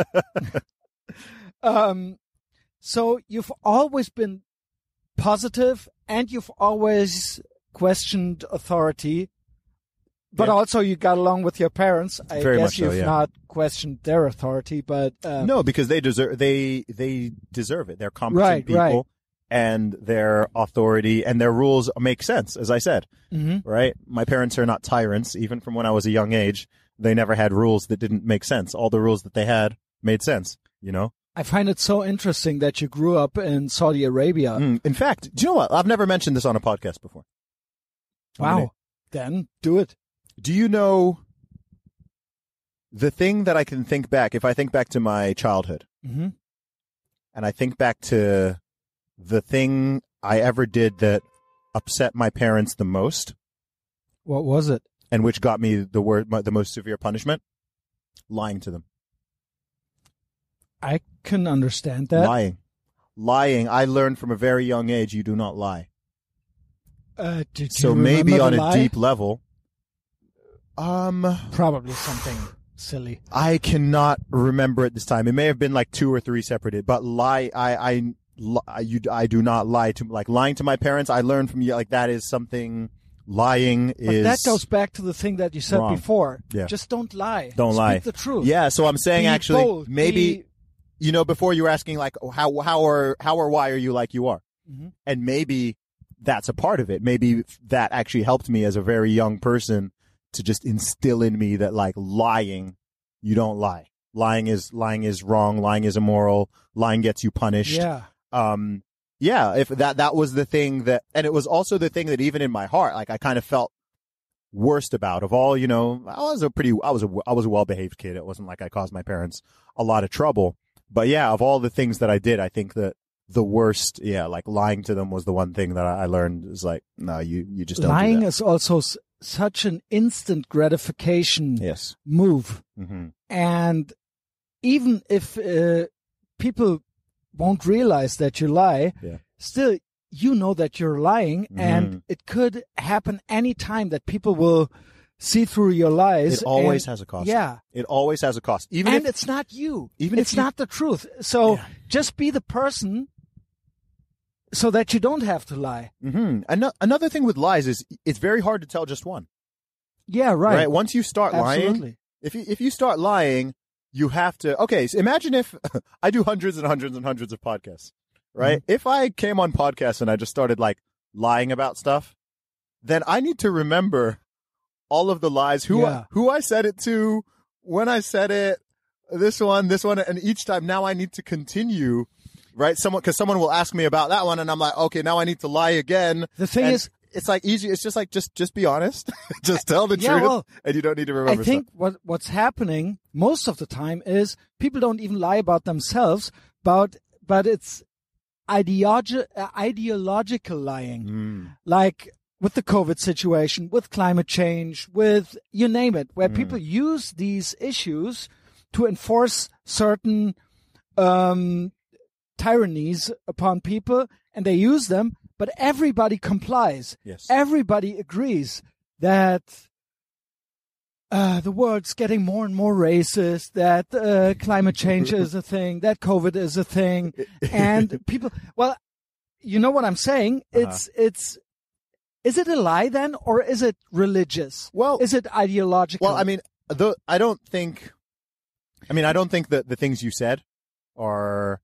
um, so you've always been positive and you've always questioned authority, but Yeah. also you got along with your parents. I Very guess much so, you've yeah. not questioned their authority, but uh, No, because they deserve they they deserve it. They're competent Right, people right. and their authority and their rules make sense, as I said. mhm. Right? My parents are not tyrants, even from when I was a young age. They never had rules that didn't make sense. All the rules that they had made sense, you know? I find it so interesting that you grew up in Saudi Arabia. Mm, in fact, do you know what? I've never mentioned this on a podcast before. I'm Wow. gonna- Then do it. Do you know the thing that I can think back, if I think back to my childhood, hmm and I think back to the thing I ever did that upset my parents the most, What was it? and which got me the word the most severe punishment? Lying to them. I can understand that. Lying. Lying. I learned from a very young age you do not lie. Uh, did So you maybe remember on the a lie? deep level, um, Probably something silly. I cannot remember at this time. It may have been like two or three separate, but lie, I, I, li- you, I do not lie to, like lying to my parents. I learned from you, like that is something, lying But is. that goes back to the thing that you said wrong. before. Yeah. Just don't lie. Don't Speak lie. the truth. Yeah, so I'm saying Be actually, bold. maybe, Be- you know, before you were asking like, how, how or, how or why are you like you are? Mhm. And maybe that's a part of it. Maybe that actually helped me as a very young person to just instill in me that like lying, you don't lie. Lying is, lying is wrong. Lying is immoral. Lying gets you punished. Yeah. Um, yeah, if that, that was the thing that, and it was also the thing that even in my heart, like I kind of felt worst about of all, you know, I was a pretty, I was a, I was a well-behaved kid. It wasn't like I caused my parents a lot of trouble, but yeah, of all the things that I did, I think that the worst, yeah, like lying to them was the one thing that I learned is like, no, you, you just don't Lying do that. is also s- such an instant gratification Yes. move. Mm-hmm. And even if uh, people won't realize that you lie, Yeah. still you know that you're lying, Mhm. and it could happen any time that people will see through your lies. It always and- has a cost. Yeah. It always has a cost. Even And if, it's not you. even if it's you- not the truth. So Yeah. just be the person so that you don't have to lie. hmm Ano- another thing with lies is it's very hard to tell just one, Yeah, right. right? Once you start lying, Absolutely. if you, if you start lying, you have to, okay, so imagine if I do hundreds and hundreds and hundreds of podcasts, right? Mm-hmm. If I came on podcasts and I just started like lying about stuff, then I need to remember all of the lies, who, Yeah. I, who I said it to, when I said it, this one, this one, and each time now I need to continue, right? Someone, cause someone will ask me about that one and I'm like, okay, now I need to lie again. The thing And is, it's like easy. It's just like, just, just be honest. Just tell the Yeah, truth well, and you don't need to I remember think stuff. what what's happening most of the time is people don't even lie about themselves, but but it's ideologi- uh, ideological lying, Mm. like with the COVID situation, with climate change, with you name it, where Mm. people use these issues to enforce certain um, tyrannies upon people, and they use them, but everybody complies. Yes. Everybody agrees that uh, the world's getting more and more racist, that uh, climate change is a thing, that COVID is a thing, and people, well, you know what I'm saying? It's, it's, is it a lie then, or is it religious? Well, Is it ideological? well, I mean, the, I don't think, I mean, I don't think that the things you said are,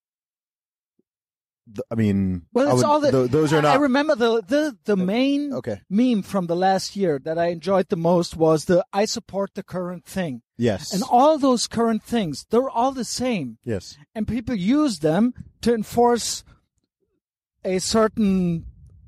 th- I mean, well, I it's would- all the, tho- those are I not, remember the, the, the main okay. meme from the last year that I enjoyed the most was the I support the current thing. Yes. And all those current things, they're all the same. yes. And people use them to enforce a certain,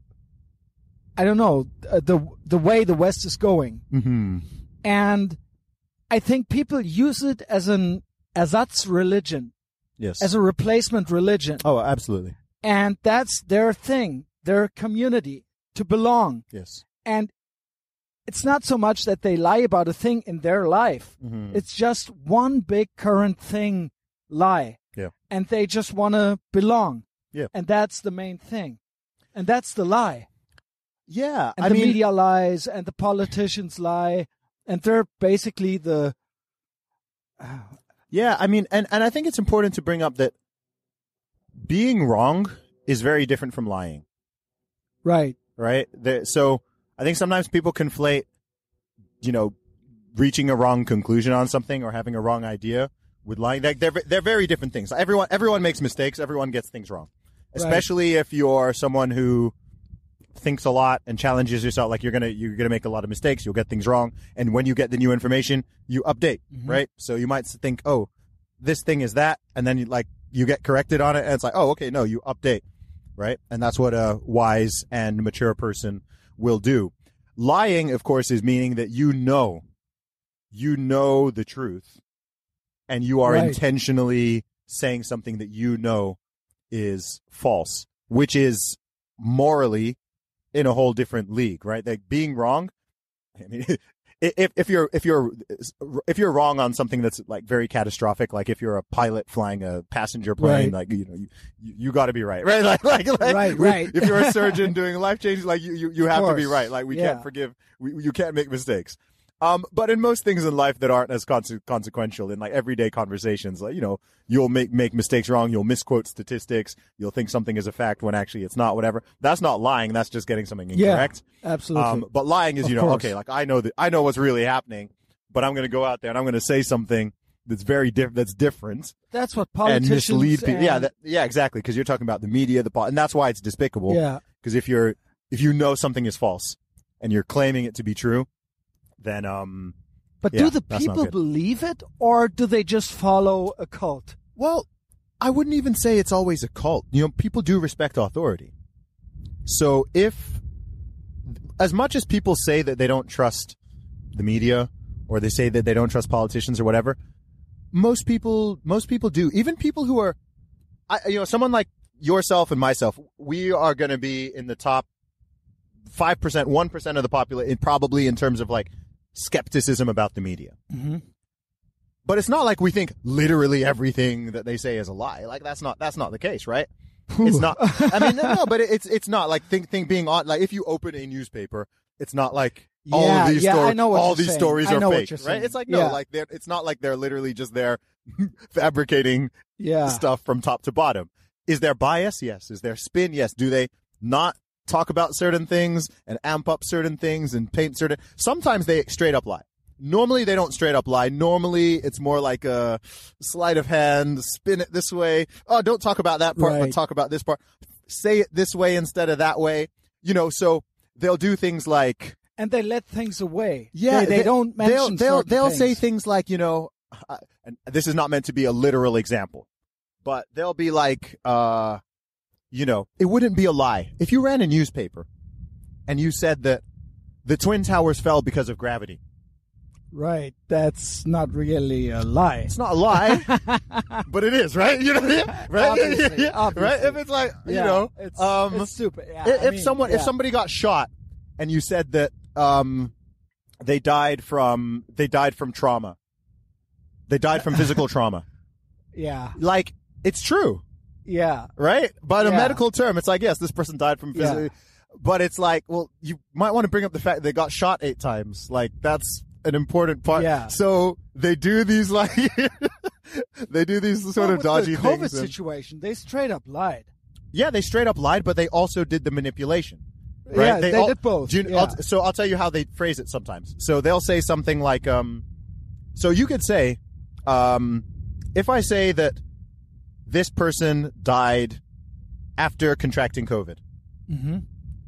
I don't know, uh, the the way the West is going. Mm-hmm. And I think people use it as an ersatz religion, Yes. as a replacement religion. Oh, absolutely. And that's their thing, their community, to belong. Yes. And it's not so much that they lie about a thing in their life. Mm-hmm. It's just one big current thing lie. Yeah. And they just want to belong. Yeah. And that's the main thing. And that's the lie. Yeah. And I the mean, media lies and the politicians lie. And they're basically the... Uh, yeah, I mean, and, and I think it's important to bring up that being wrong is very different from lying. right. Right? There, so I think sometimes people conflate, you know, reaching a wrong conclusion on something or having a wrong idea with lying. Like they're they're very different things. Everyone everyone makes mistakes. Everyone gets things wrong, especially if you're someone who thinks a lot and challenges yourself. Like you're gonna you're gonna make a lot of mistakes. You'll get things wrong, and when you get the new information, you update. Mm-hmm. Right? So you might think, oh, this thing is that, and then you like you get corrected on it, and it's like, oh, okay, no, you update. Right? And that's what a wise and mature person will do. Lying, of course, is meaning that you know, you know the truth, and you are Right. intentionally saying something that you know is false, which is morally in a whole different league, right? Like being wrong. I mean, if if you're if you're if you're wrong on something that's like very catastrophic, like if you're a pilot flying a passenger plane, Right. like you know you you, you got to be right, right? Like like, like Right, right. If you're a surgeon doing life changes, like you you, you have to be course. right. Like we Yeah. can't forgive, we, you can't make mistakes. Um, but in most things in life that aren't as conse- consequential, in like everyday conversations, like you know, you'll make make mistakes wrong, you'll misquote statistics, you'll think something is a fact when actually it's not. Whatever. That's not lying. That's just getting something Yeah. incorrect. Absolutely. Um, but lying is, Of you know, course. okay, like I know that I know what's really happening, but I'm going to go out there and I'm going to say something that's very different. That's different that's what and politicians mislead people. Yeah, and- that, yeah, exactly. Because you're talking about the media, the pol- and that's why it's despicable. yeah. Because if you're if you know something is false and you're claiming it to be true, then um. But Yeah, do the that's not people good. believe it, or do they just follow a cult? Well, I wouldn't even say it's always a cult. You know, people do respect authority. So if, as much as people say that they don't trust the media, or they say that they don't trust politicians or whatever, most people, most people do. Even people who are, I, you know, someone like yourself and myself, we are going to be in the top five percent, one percent of the population, probably in terms of like skepticism about the media. Mm-hmm. But it's not like we think literally everything that they say is a lie. Like that's not that's not the case, right? It's not. I mean, no, no, but it's it's not like think think being on like if you open a newspaper, it's not like all Yeah, of these yeah, stories I know what all you're these saying. stories I are know what fake, you're right? saying. It's like no, Yeah. like they're it's not like they're literally just there fabricating Yeah. stuff from top to bottom. Is there bias? Yes. Is there spin? Yes. Do they not talk about certain things and amp up certain things and paint certain? Sometimes they straight up lie. Normally they don't straight up lie. Normally it's more like a sleight of hand, spin it this way. Oh, don't talk about that part, Right. but talk about this part. Say it this way instead of that way. You know, so they'll do things like And they let things away. yeah, they, they, don't mention They'll they'll, certain they'll things. say things like, you know, uh, and this is not meant to be a literal example, but they'll be like, uh, you know, it wouldn't be a lie if you ran a newspaper and you said that the Twin Towers fell because of gravity. Right. That's not really a lie. It's not a lie, but it is, right? You know, right? Obviously, Yeah, obviously. right? If it's like, you Yeah, know, it's, um, it's stupid. Yeah, if I mean, someone if yeah. somebody got shot and you said that um they died from they died from trauma, they died from physical trauma, Yeah. like it's true, Yeah. right? By a Yeah. medical term, it's like yes, this person died from physical, Yeah. but it's like, well, you might want to bring up the fact they got shot eight times, like that's an important part. Yeah. So they do these like they do these sort Well, of with dodgy the COVID things. and- situation, they straight up lied. Yeah, they straight up lied, but they also did the manipulation. Right? Yeah, they all- did both, do you- yeah. I'll- so I'll tell you how they phrase it sometimes. So they'll say something like, um, so you could say, um, if I say that this person died after contracting COVID, Mm-hmm.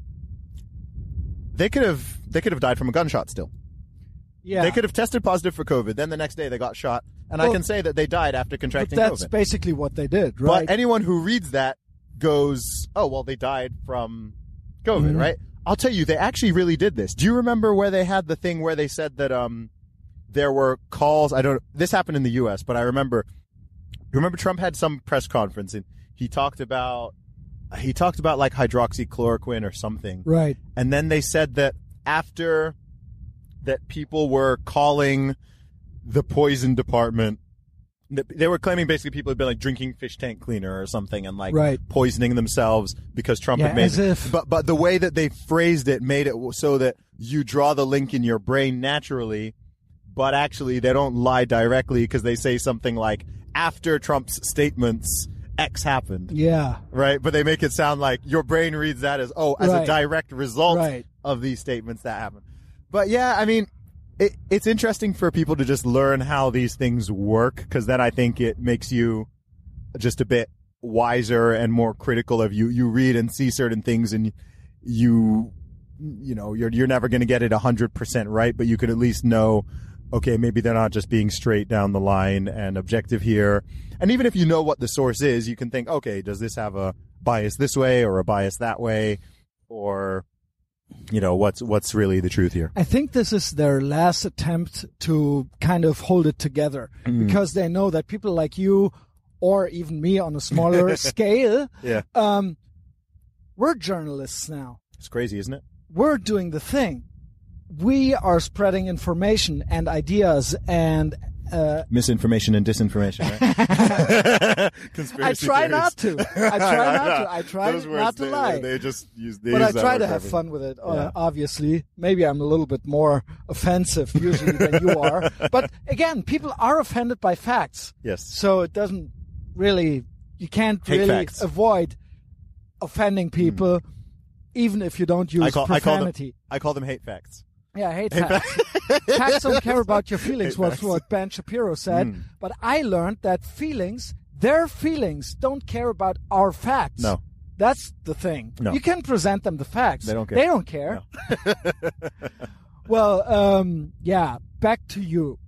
they could have they could have died from a gunshot still. Yeah. They could have tested positive for COVID. Then the next day they got shot, and I Well, can say that they died after But contracting that's COVID. basically what they did, right? But anyone who reads that goes, oh, well, they died from COVID, Mhm. right? I'll tell you, they actually really did this. Do you remember where they had the thing where they said that um there were calls? I don't. This happened in the U S, but I remember. Remember, Trump had some press conference and he talked about he talked about like hydroxychloroquine or something, Right. and then they said that after that, people were calling the poison department. They were claiming basically people had been like drinking fish tank cleaner or something and like Right. poisoning themselves because Trump Yeah, had made as if- But but the way that they phrased it made it so that you draw the link in your brain naturally, but actually they don't lie directly because they say something like after Trump's statements X happened, Yeah. right? But they make it sound like your brain reads that as oh as Right. a direct result Right. of these statements that happened. But yeah, I mean. It, it's interesting for people to just learn how these things work, because then I think it makes you just a bit wiser and more critical of you. You read and see certain things, and you, you know, you're you're never going to get it a hundred percent right, but you could at least know, okay, maybe they're not just being straight down the line and objective here. And even if you know what the source is, you can think, okay, does this have a bias this way or a bias that way, or you know, what's what's really the truth here? I think this is their last attempt to kind of hold it together Mm. because they know that people like you or even me on a smaller scale, Yeah, um, we're journalists now. it's crazy, isn't it? We're doing the thing. We are spreading information and ideas and uh, Misinformation and disinformation, right? I Conspiracy try theories. not to. I try not to. I try Those words, not to they, lie. They, they just use. They But use I that try word to for have everything. fun with it, uh, Yeah. obviously. Maybe I'm a little bit more offensive usually than you are. But again, people are offended by facts. Yes. So it doesn't really, you can't Hate really facts. avoid offending people, even if you don't use I call, I call them. profanity. I call them hate facts. Yeah, hate, Hate facts. Facts don't care about your feelings, Hate was facts. what Ben Shapiro said. Mm. But I learned that feelings, their feelings, don't care about our facts. No. That's the thing. No. You can present them the facts. They don't care. They don't care. Well, um, yeah, back to you.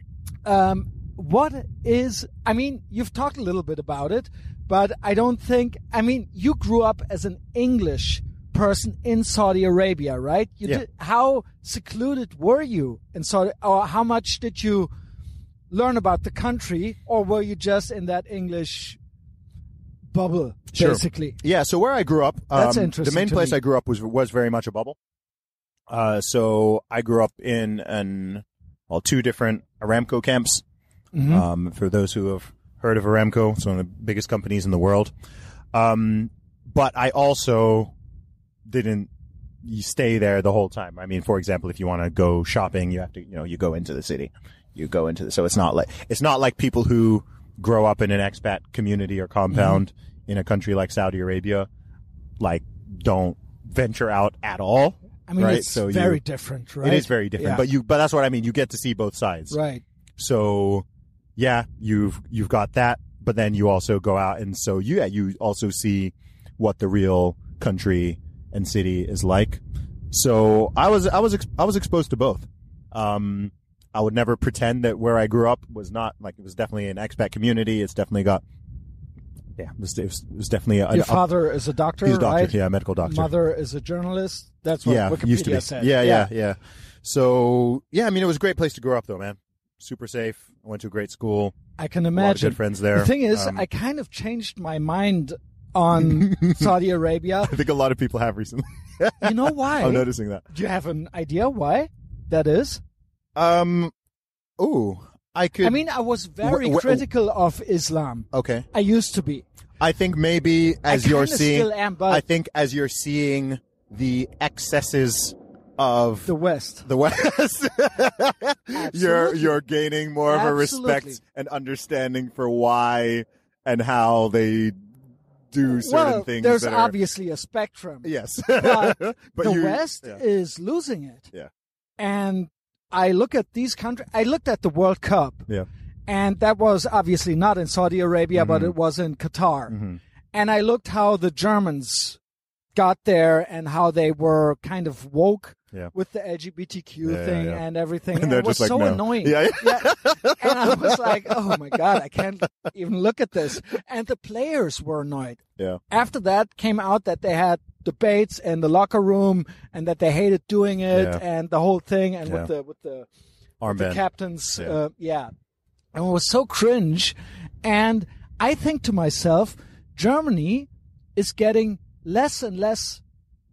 Um, what is, I mean, you've talked a little bit about it, but I don't think, I mean, you grew up as an English person in Saudi Arabia, right? You Yeah. did, how secluded were you in Saudi, or how much did you learn about the country, or were you just in that English bubble, Sure. basically? Yeah. So where I grew up, That's um, interesting the main to place me. I grew up was was very much a bubble. Uh, so I grew up in an well two different Aramco camps. Mhm. Um, for those who have heard of Aramco, it's one of the biggest companies in the world. Um, but I also didn't you stay there the whole time. I mean, for example, if you want to go shopping, you have to, you know, you go into the city, you go into the, so it's not like, it's not like people who grow up in an expat community or compound Mm-hmm. in a country like Saudi Arabia, like don't venture out at all. I mean, right? it's So you- very different, right? It is very different, Yeah. but you, but that's what I mean. You get to see both sides. Right. So yeah, you've, you've got that, but then you also go out and so you, yeah, you also see what the real country and city is like. So I was, I was, ex- I was exposed to both. Um, I would never pretend that where I grew up was not like, it was definitely an expat community. It's definitely got, yeah, it was, it was, it was definitely a, Your a- father is a doctor, he's a doctor, right? yeah, a medical doctor. Mother is a journalist. That's what yeah, Wikipedia used to be. said. Yeah, yeah, yeah. So yeah, I mean, it was a great place to grow up though, man. Super safe. I went to a great school. I can A lot of imagine. good friends there. The thing is, Um, I kind of changed my mind on Saudi Arabia. I think a lot of people have recently. You know why? I'm noticing that. Do you have an idea why that is? Um, ooh, I could. I mean, I was very Wh- wh- critical of Islam. okay. I used to be. I think maybe as I you're kinda seeing, still am, but I think as you're seeing the excesses of the West. the West, you're Absolutely. you're gaining more of a Absolutely. respect and understanding for why and how they do certain Well, things. there's that are, obviously a spectrum. yes, But but the you- West yeah. is losing it. Yeah. And I look at these countries. I looked at the World Cup. Yeah. And that was obviously not in Saudi Arabia, but Mhm. it was in Qatar. Mhm. And I looked how the Germans got there and how they were kind of woke Yeah. with the L G B T Q Yeah, thing yeah, yeah. and everything. And And they're it was just like, so no. annoying. Yeah, yeah. Yeah. And I was like, oh my God, I can't even look at this. And the players were annoyed. Yeah. After that came out that they had debates in the locker room and that they hated doing it Yeah. and the whole thing and Yeah. with the, with the, with the Armband. captains. Yeah. Uh, yeah. And it was so cringe. And I think to myself, Germany is getting less and less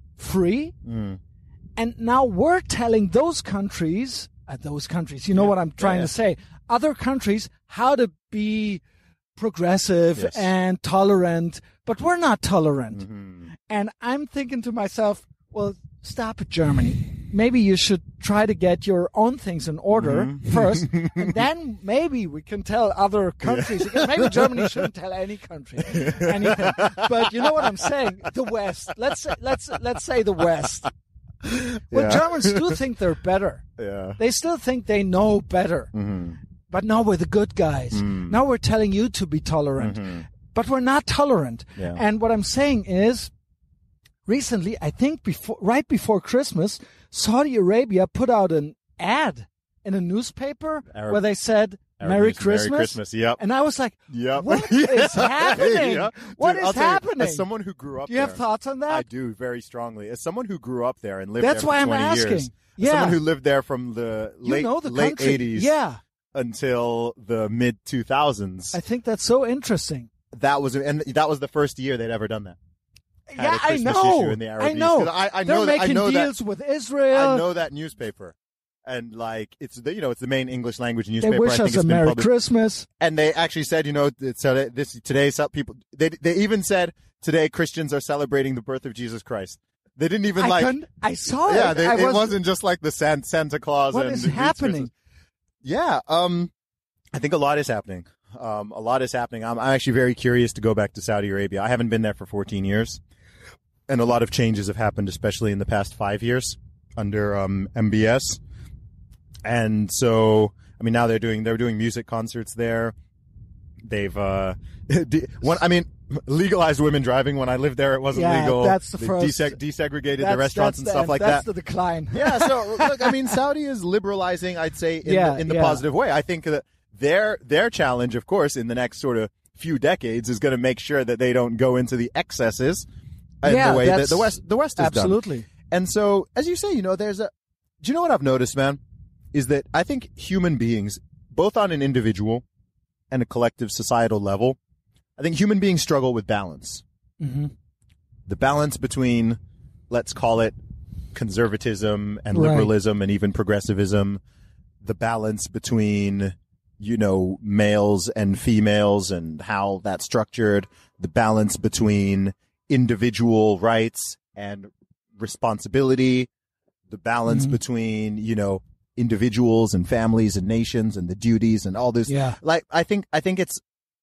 free. Mm. And now we're telling those countries, uh, those countries, you know Yeah. what I'm trying Yeah, to say, other countries, how to be progressive Yes. and tolerant, but we're not tolerant. Mhm. And I'm thinking to myself, well, stop it, Germany. Maybe you should try to get your own things in order Mm-hmm. first, and then maybe we can tell other countries. Because maybe Germany shouldn't tell any country anything. But you know what I'm saying? The West. Let's say, let's let's say the West. Well, Yeah. Germans do think they're better. Yeah. They still think they know better. Mhm. But now we're the good guys. Mm. Now we're telling you to be tolerant. Mhm. But we're not tolerant. Yeah. And what I'm saying is, recently, I think before, right before Christmas, Saudi Arabia put out an ad in a newspaper Arab- where they said, Arab Merry news, Christmas. Merry Christmas. Yep. And I was like, Yep. what is happening? Yeah. What Dude, is I'll tell you, happening? as someone who grew up Do you have there, thoughts on I that? do very strongly. As someone who grew up there and lived That's there for why I'm twenty asking. years, as Yeah. someone who lived there from the You late know the late country. eighties Yeah. until the mid two thousands, I think that's so interesting. that was and that was the first year they'd ever done that. Had yeah, a I Christmas know. issue in the Arab I East. know. 'Cause I, I They're know that. I making know that. deals with Israel. I know that newspaper, and like it's the you know it's the main English language They newspaper. wish I think us it's a been Merry published. Christmas. And they actually said, you know, that- so that this today, some people they they even said today Christians are celebrating the birth of Jesus Christ. They didn't even I like. couldn't. I saw Yeah, it. they, I it was, wasn't just like the San, Santa Claus. What and is the happening? Christmas. Yeah, um, I think a lot is happening. Um, a lot is happening. I'm, I'm actually very curious to go back to Saudi Arabia. I haven't been there for fourteen years, and a lot of changes have happened, especially in the past five years under um, M B S. And so, I mean, now they're doing they're doing music concerts there. They've uh, de- one. I mean, legalized women driving. When I lived there, it wasn't Yeah, legal. that's the They first- deseg- desegregated That's- the restaurants that's and the stuff end. like that's that. the decline. Yeah, so look, I mean, Saudi is liberalizing, I'd say, in, Yeah, the, in the yeah. positive way. I think that their their challenge, of course, in the next sort of few decades, is going to make sure that they don't go into the excesses in Yeah, the way that that's- the West the West has done. Absolutely. And so, as you say, you know, there's a. Do you know what I've noticed, man? Is that I think human beings, both on an individual and a collective societal level, I think human beings struggle with balance. Mm-hmm. The balance between, let's call it, conservatism and Right. liberalism and even progressivism, the balance between, you know, males and females and how that's structured, the balance between individual rights and responsibility, the balance Mhm. between, you know, individuals and families and nations and the duties and all this. Yeah. Like, I think, I think it's,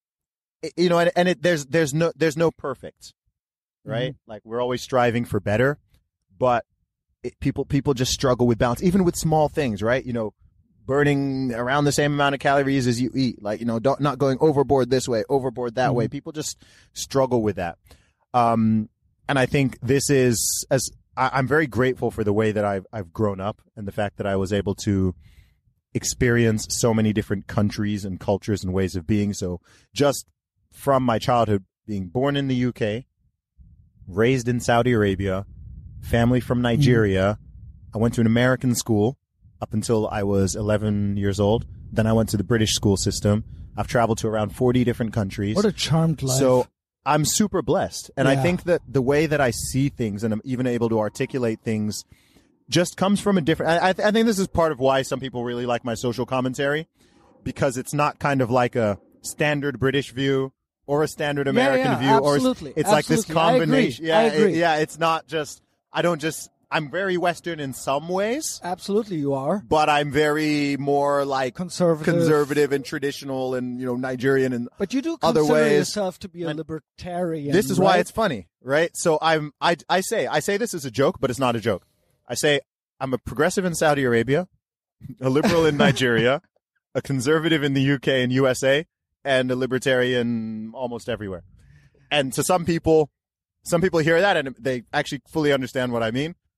you know, and, and it, there's, there's no, there's no perfect, right? Like we're always striving for better, but it, people, people just struggle with balance, even with small things, right? You know, burning around the same amount of calories as you eat, like, you know, don't, not going overboard this way, overboard that way. People just struggle with that. Um, and I think this is, as I, I'm very grateful for the way that I've, I've grown up and the fact that I was able to experience so many different countries and cultures and ways of being. So just from my childhood, being born in the U K, raised in Saudi Arabia, family from Nigeria, I went to an American school up until I was eleven years old. Then I went to the British school system. I've traveled to around forty different countries. What a charmed life. So I'm super blessed. And I Yeah. think that the way that I see things and I'm even able to articulate things just comes from a different, I, I, th- I think this is part of why some people really like my social commentary, because it's not kind of like a standard British view or a standard American yeah, view, absolutely, or it's like this absolutely. I agree. combination. Yeah, I agree. it- yeah, it's not just, I don't just, I'm very Western in some ways, Absolutely, you are. but I'm very more like Conservative. conservative and traditional and, you know, Nigerian and But you do other consider ways. yourself to be a And libertarian. this is right? why it's funny, right? So I'm, I, I say, I say this as a joke, but it's not a joke. I say I'm a progressive in Saudi Arabia, a liberal in Nigeria, a conservative in the U K and U S A, and a libertarian almost everywhere. And to some people, some people hear that and they actually fully understand what I mean.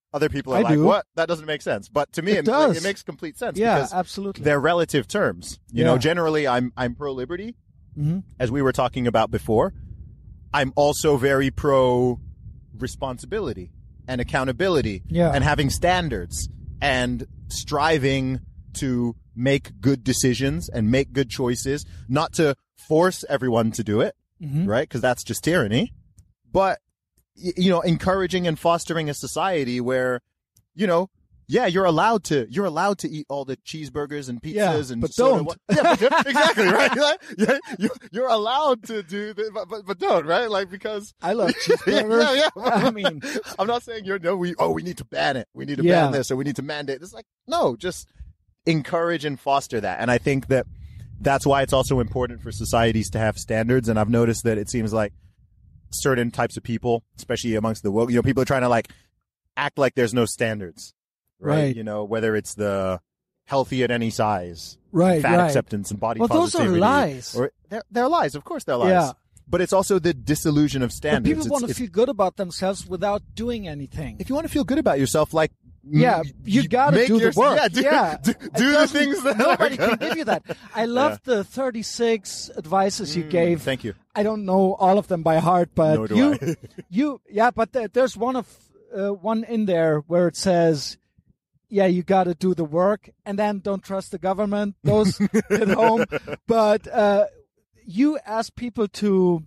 Other people are I like, do. what? That doesn't make sense. But to me, It it, does. it makes complete sense Yeah, because absolutely. they're relative terms. You Yeah. know, generally I'm I'm pro liberty, Mhm. as we were talking about before. I'm also very pro responsibility and accountability Yeah. and having standards and striving to make good decisions and make good choices, not to force everyone to do it, Mhm. right? Because that's just tyranny. But, y- you know, encouraging and fostering a society where, you know, yeah, you're allowed to you're allowed to eat all the cheeseburgers and pizzas Yeah, and but soda don't. wa- Yeah, but, exactly, right? Like, yeah, you, you're allowed to do the, but, but but don't, right? Like because I love cheeseburgers. yeah, yeah. I mean, I'm not saying you're no. We oh, we need to ban it. We need to Yeah. ban this, or we need to mandate. It's like no, just encourage and foster that. And I think that that's why it's also important for societies to have standards. And I've noticed that it seems like certain types of people, especially amongst the woke, you know, people are trying to like act like there's no standards, right? Right. You know, whether it's the healthy at any size, right, fat right. acceptance, and body Well, those are positivity, lies. or they're, they're lies. Of course, they're lies. Yeah. But it's also the disillusion of But standards. people It's- want to it's- feel good about themselves without doing anything. if you want to feel good about yourself, like Yeah, mm, you gotta make do the your- work. Yeah, do, Yeah. do, It do the doesn't- things that nobody are can give you that. I love the thirty-six advices you Mm, gave. Thank you. I don't know all of them by heart, but Nor do you, I. you, yeah, but there- there's one of uh, one in there where it says, "Yeah, you got to do the work, and then don't trust the government." Those at home, but uh, you ask people to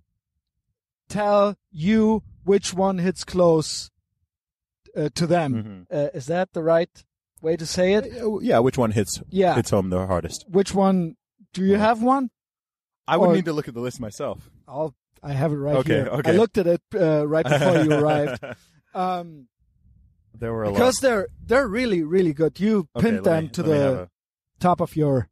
tell you which one hits close uh, to them. Mhm. Uh, is that the right way to say it? Yeah, which one hits Yeah. hits home the hardest? Which one? Do you have one? I would Or- need to look at the list myself. I'll. I have it right Okay, here. okay. I looked at it uh, right before you arrived. Um, There were a because lot. they're they're really really good. You Okay, pinned let them me- to let me have the a- top of your.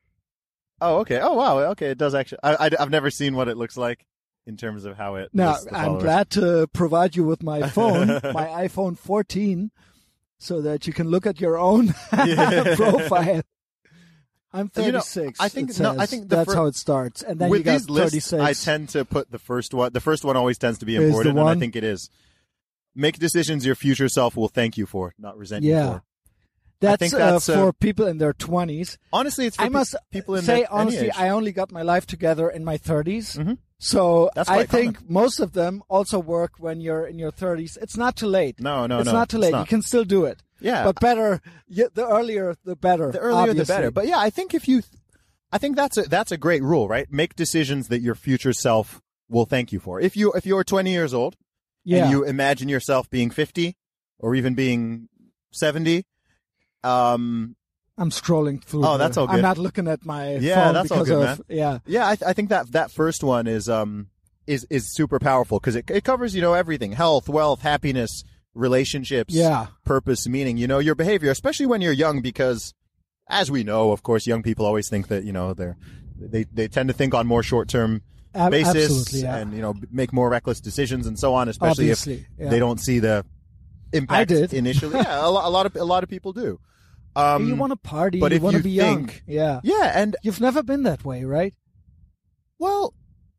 Oh, okay. Oh, wow. Okay, it does actually. I, I, have never seen what it looks like in terms of how it. Now lists the I'm followers. glad to provide you with my phone, my iPhone fourteen, so that you can look at your own Yeah. profile. I'm You know, thirty-six. I think- it no, I says. think the that's fir- how it starts, and then With you got these lists, thirty-six. I tend to put the first one. The first one always tends to be Is the important, and I one? think it is. Make decisions your future self will thank you for, not resent you Yeah. for. that's, think that's, uh, uh, for people in their twenties. Honestly, it's for I pe- must people in say their, any honestly, age. I only got my life together in my thirties. Mhm. So That's I quite think most of them also work when you're in your thirties. It's not too late. No, no, it's no. not too it's late. not. You can still do it. Yeah, But better, y- the earlier the better. the earlier the obviously. better. But yeah, I think if you, I think that's a that's a great rule, right? Make decisions that your future self will thank you for. If you if you're twenty years old yeah. and you imagine yourself being fifty or even being seventy, um, I'm scrolling through. Oh, the- that's all I'm good. not looking at my Yeah, phone that's all because good, of man. yeah. yeah, I, th- I think that that first one is um is is super powerful because it it covers you know everything: health, wealth, happiness, relationships, Yeah. purpose, meaning. You know your behavior, especially when you're young, because as we know, of course, young people always think that you know they're they they tend to think on more short term Ab- basis absolutely, yeah. and you know make more reckless decisions and so on, especially Obviously, if yeah. they don't see the impact did. initially. Yeah, a, lo- a lot of a lot of people do. Um, you want to party, but you if want to you be young. think- Yeah. yeah, and You've never been that way, right? well,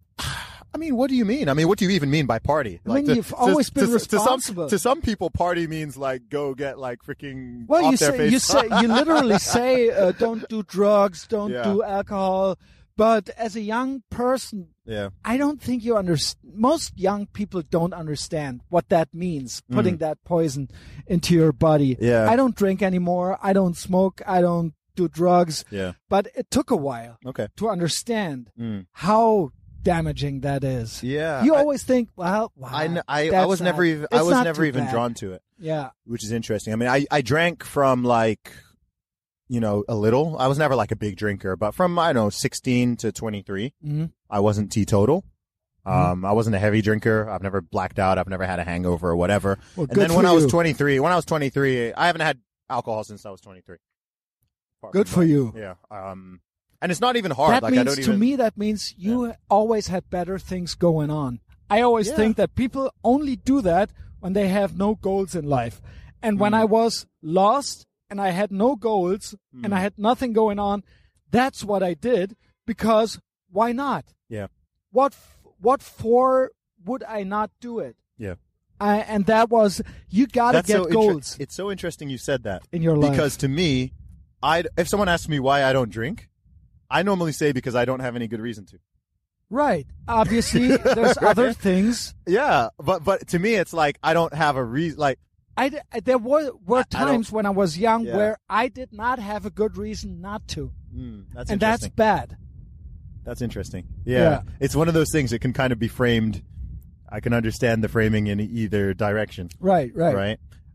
I mean, what do you mean? I mean, what do you even mean by party? I mean, you've always been to, responsible. To some, to some people, party means like go get like freaking Well, off you their say face. you say you literally say uh, don't do drugs, don't Yeah. do alcohol. But as a young person, yeah, I don't think you understand. Most young people don't understand what that means, putting that poison into your body. Mm. Yeah. I don't drink anymore. I don't smoke. I don't do drugs. yeah. But it took a while Okay. to understand Mm. how damaging that is. Yeah. You I- always think, well, wow, I, kn- I, I that's was not- never even I it's was not never too even bad. drawn to it, Yeah. which is interesting. I mean, I, I drank from like, you know, a little. I was never like a big drinker, but from I don't know sixteen to twenty-three, hmm I wasn't teetotal. Mm-hmm. Um, I wasn't a heavy drinker. I've never blacked out. I've never had a hangover or whatever. Well, And good then for when I was you. twenty-three, when I was twenty-three, I haven't had alcohol since I was twenty-three. Apart Good from for that. you. Yeah. Um, and it's not even hard. That like means I don't to even. me that means you always had better things going on. I always Yeah. think that people only do that when they have no goals in life. And when Mm. I was lost and I had no goals Mm. and I had nothing going on, that's what I did because why not? Yeah. What f- what for would I not do it? Yeah. I, and that was, you got to That's get so inter- goals It's so interesting you said that. in your life. Because to me, I if someone asks me why I don't drink, I normally say because I don't have any good reason to. Right. Obviously, there's Right. other things. Yeah, but but to me, it's like I don't have a reason. Like I, d- there were, were I- I don't- times when I was young Yeah. where I did not have a good reason not to. mm, that's And that's interesting. bad. That's interesting. Yeah. Yeah. It's one of those things that can kind of be framed. I can understand the framing in either direction. Right, right. Right.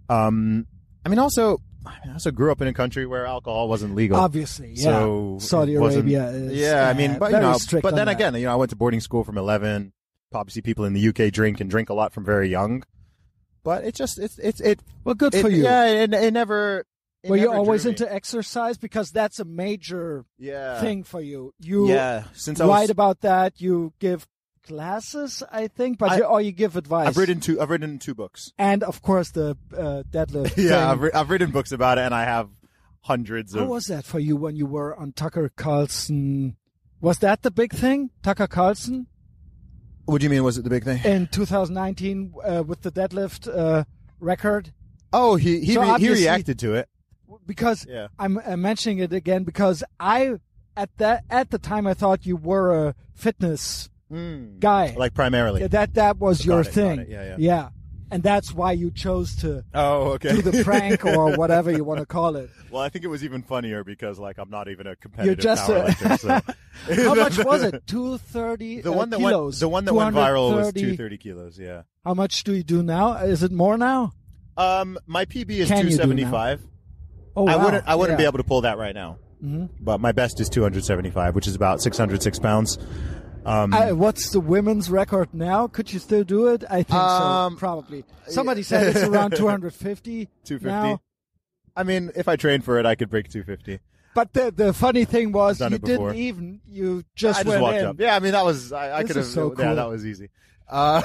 Um, I mean, also, I, mean, I also grew up in a country where alcohol wasn't legal. Obviously, yeah. So Saudi it wasn't- Arabia is Yeah, I uh, mean, but you very know, strict but on then that. again, you know, I went to boarding school from eleven. Obviously, people in the U K drink and drink a lot from very young. But it just it's it's it. Well, good it for you. Yeah, it, it never. It Were you never always drew me. into exercise? Because that's a major yeah thing for you. You Yeah, since I write was, about that. You give classes, I think, but I- you, or you give advice. I've written two. I've written two books. and of course the uh, deadlift. Yeah, thing. I've, re- I've written books about it, and I have hundreds How of. was that for you when you were on Tucker Carlson? Was that the big thing, Tucker Carlson, What do you mean? Was it the big thing? in two thousand nineteen uh, with the deadlift uh, record? Oh, he he So re- he obviously- reacted to it. Because Yeah. I'm uh, mentioning it again because I at that at the time I thought you were a fitness Mm. guy. Like primarily. Yeah, that that was Got your it, got thing. it. Yeah, yeah. And that's why you chose to Oh, okay. do the prank or whatever you want to call it. Well, I think it was even funnier because, like, I'm not even a competitive just a- powerlifter. So. How much was it? Two thirty The uh, one that kilos. went the one that went viral was two thirty. two thirty kilos. Yeah. How much do you do now? Is it more now? Um, my P B is Can two you do seventy-five. Oh, I wow. wouldn't I wouldn't Yeah. be able to pull that right now. Mhm. But my best is two seventy-five, which is about six hundred six pounds. Um, Uh, what's the women's record now? Could you still do it? I think Um, so. Probably. Somebody said it's around two hundred fifty. two fifty. now. I mean, if I trained for it, I could break two fifty. But the the funny thing was Done you it before. didn't even. You just I just went walked in. up. Yeah, I mean that was I, I This could have. is so Yeah, cool. that was easy. Uh,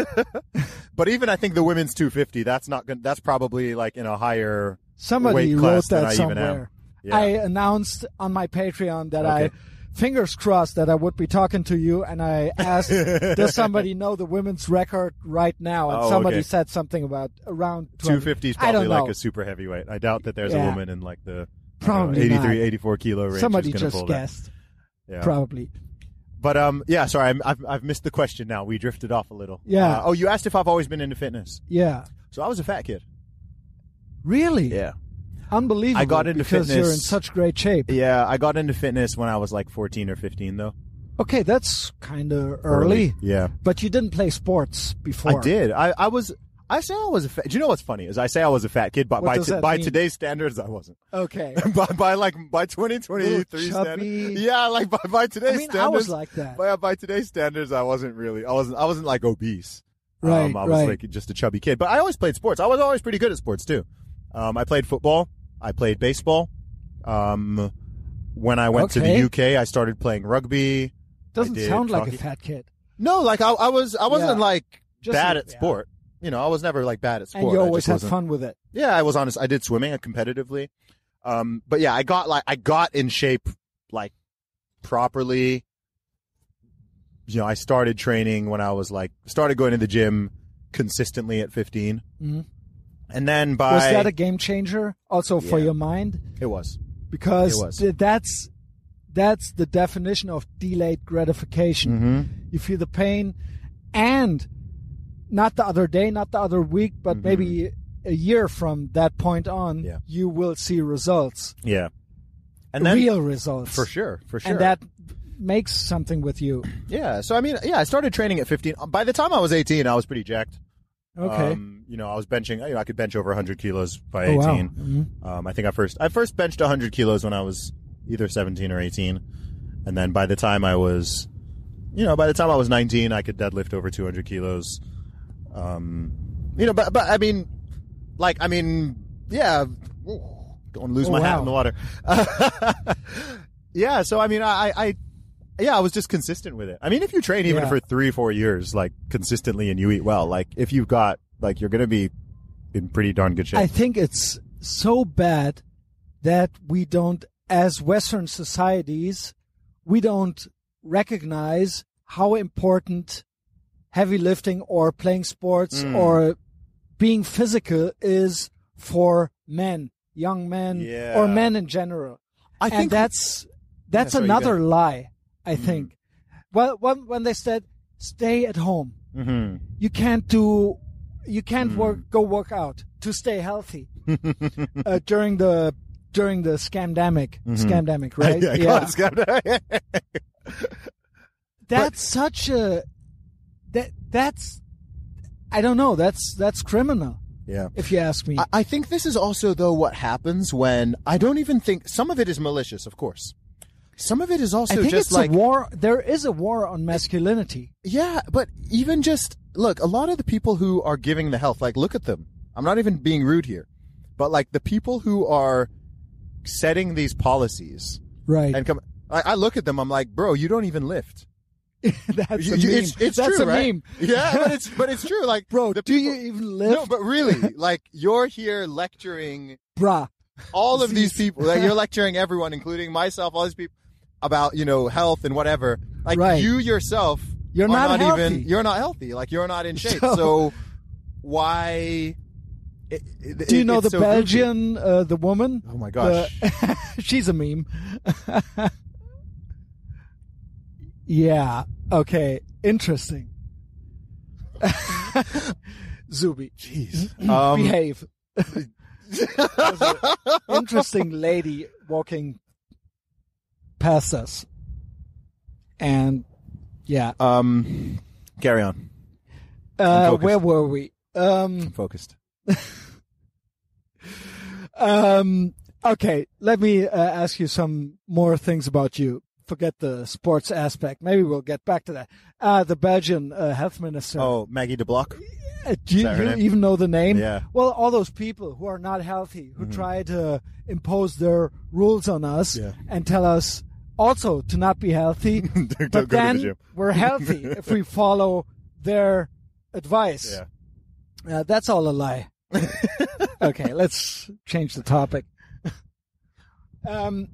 but even I think the women's two fifty. That's not. Gonna, that's probably like in a higher. Somebody weight class wrote than that I even am. somewhere. Yeah. I announced on my Patreon that Okay. I, fingers crossed, that I would be talking to you, and I asked, does somebody know the women's record right now? And Oh, somebody okay. said something about around two fifty is I don't probably like know. a super heavyweight. I doubt that there's Yeah. a woman in like the I don't know, Probably eighty-three, not. eighty-four kilo range. Somebody who's gonna just pull that. guessed. Yeah. Probably. But um, yeah. Sorry, I'm, I've I've missed the question. Now we drifted off a little. Yeah. Uh, oh, you asked if I've always been into fitness. Yeah. So I was a fat kid. Really? Yeah. Unbelievable. I got into because you're in fitness- such great shape. Yeah, I got into fitness when I was like fourteen or fifteen, though. Okay, that's kind of early. Yeah. But you didn't play sports before. I did. I, I was. I say I was a fat. Do you know what's funny? Is I say I was a fat kid, but What by does t- that by mean? today's standards, I wasn't. Okay. by, by like by twenty twenty-three Little standards, chubby. yeah, like by, by today's I mean, I standards, was like that. by, by today's standards, I wasn't really. I wasn't. I wasn't like obese. Right, Um, I was right. like just a chubby kid. But I always played sports. I was always pretty good at sports too. Um, I played football. I played baseball. Um, when I went to the Okay. U K, I started playing rugby. Doesn't I did sound like a hockey. fat kid. No, like I, I was. I wasn't Yeah. like Just bad a- at yeah. sport. You know, I was never like bad at sport. And you I always just had wasn't- fun with it. Yeah, I was honest. I did swimming uh, competitively. Um, but yeah, I got like I got in shape like properly. You know, I started training when I was like started going to the gym consistently at fifteen, Mhm. and then by Was that a game changer also for Yeah. your mind? it was Because It was. th- that's that's the definition of delayed gratification. mm-hmm. You feel the pain, and not the other day, not the other week, but Mhm. maybe a year from that point on, Yeah. you will see results, yeah, and then real results, for sure, for sure, and that makes something with you. yeah. So I mean, yeah, I started training at fifteen. By the time I was eighteen, I was pretty jacked. Okay. Um, you know, I was benching. You know, I could bench over one hundred kilos by Oh, wow. eighteen. Mhm. Um, I think I first I first benched one hundred kilos when I was either seventeen or eighteen, and then by the time I was, you know, by the time I was nineteen, I could deadlift over two hundred kilos. Um, you know, but but I mean, like I mean, yeah, don't lose Oh, my hat wow. in the water. Yeah, so I mean, I, I, yeah, I was just consistent with it. I mean, if you train even Yeah. for three, four years, like consistently, and you eat well, like if you've got, like, you're gonna be in pretty darn good shape. I think it's so bad that we don't, as Western societies, we don't recognize how important heavy lifting or playing sports Mm. or being physical is for men, young men, Yeah. or men in general. I and think that's that's sorry, you another go. lie, I think. Well, when when they said stay at home, Mhm. you can't do, you can't Mm. work, go work out to stay healthy uh, during the during the scamdemic, scamdemic, right? Yeah, yeah. it's got- That's such a that that's I don't know. That's that's criminal, yeah. if you ask me. I, I think this is also, though, what happens when I don't even think some of it is malicious, of course. Some of it is also I think just it's like a war. There is a war on masculinity. yeah, but even just look, a lot of the people who are giving the health, like look at them. I'm not even being rude here, but like the people who are setting these policies Right. and come, I, I look at them. I'm like, bro, you don't even lift. That's You- a you- meme. It's, it's That's true, a right? meme. Yeah, but it's but it's true. Like, Bro, the do people- you even lift? No, but really, like you're here lecturing Bruh. all of these Z's. people. Like, you're lecturing everyone, including myself, all these people, about you know health and whatever. Like Right. you yourself, You're are not healthy. even. You're not healthy. Like you're not in shape. So- So, why? It, it, Do you know it's the so goofy. Belgian, uh, the woman? Oh my gosh! The- she's a meme. Yeah. Okay. Interesting. Zubi, Jeez. Um, behave. There's an interesting lady walking past us, and yeah. um, carry on. Uh, focused. where were we? Um, I'm focused. um, okay, let me uh, ask you some more things about you. Forget the sports aspect. Maybe we'll get back to that. Uh, the Belgian uh, health minister. Oh, Maggie de Block. Uh, do you, that her you name? even know the name? Yeah. Well, all those people who are not healthy, who try to impose their rules on us Yeah. and tell us also to not be healthy, Don't but go to the then gym. we're healthy if we follow their advice. Yeah. Uh, that's all a lie. Okay, let's change the topic. Um,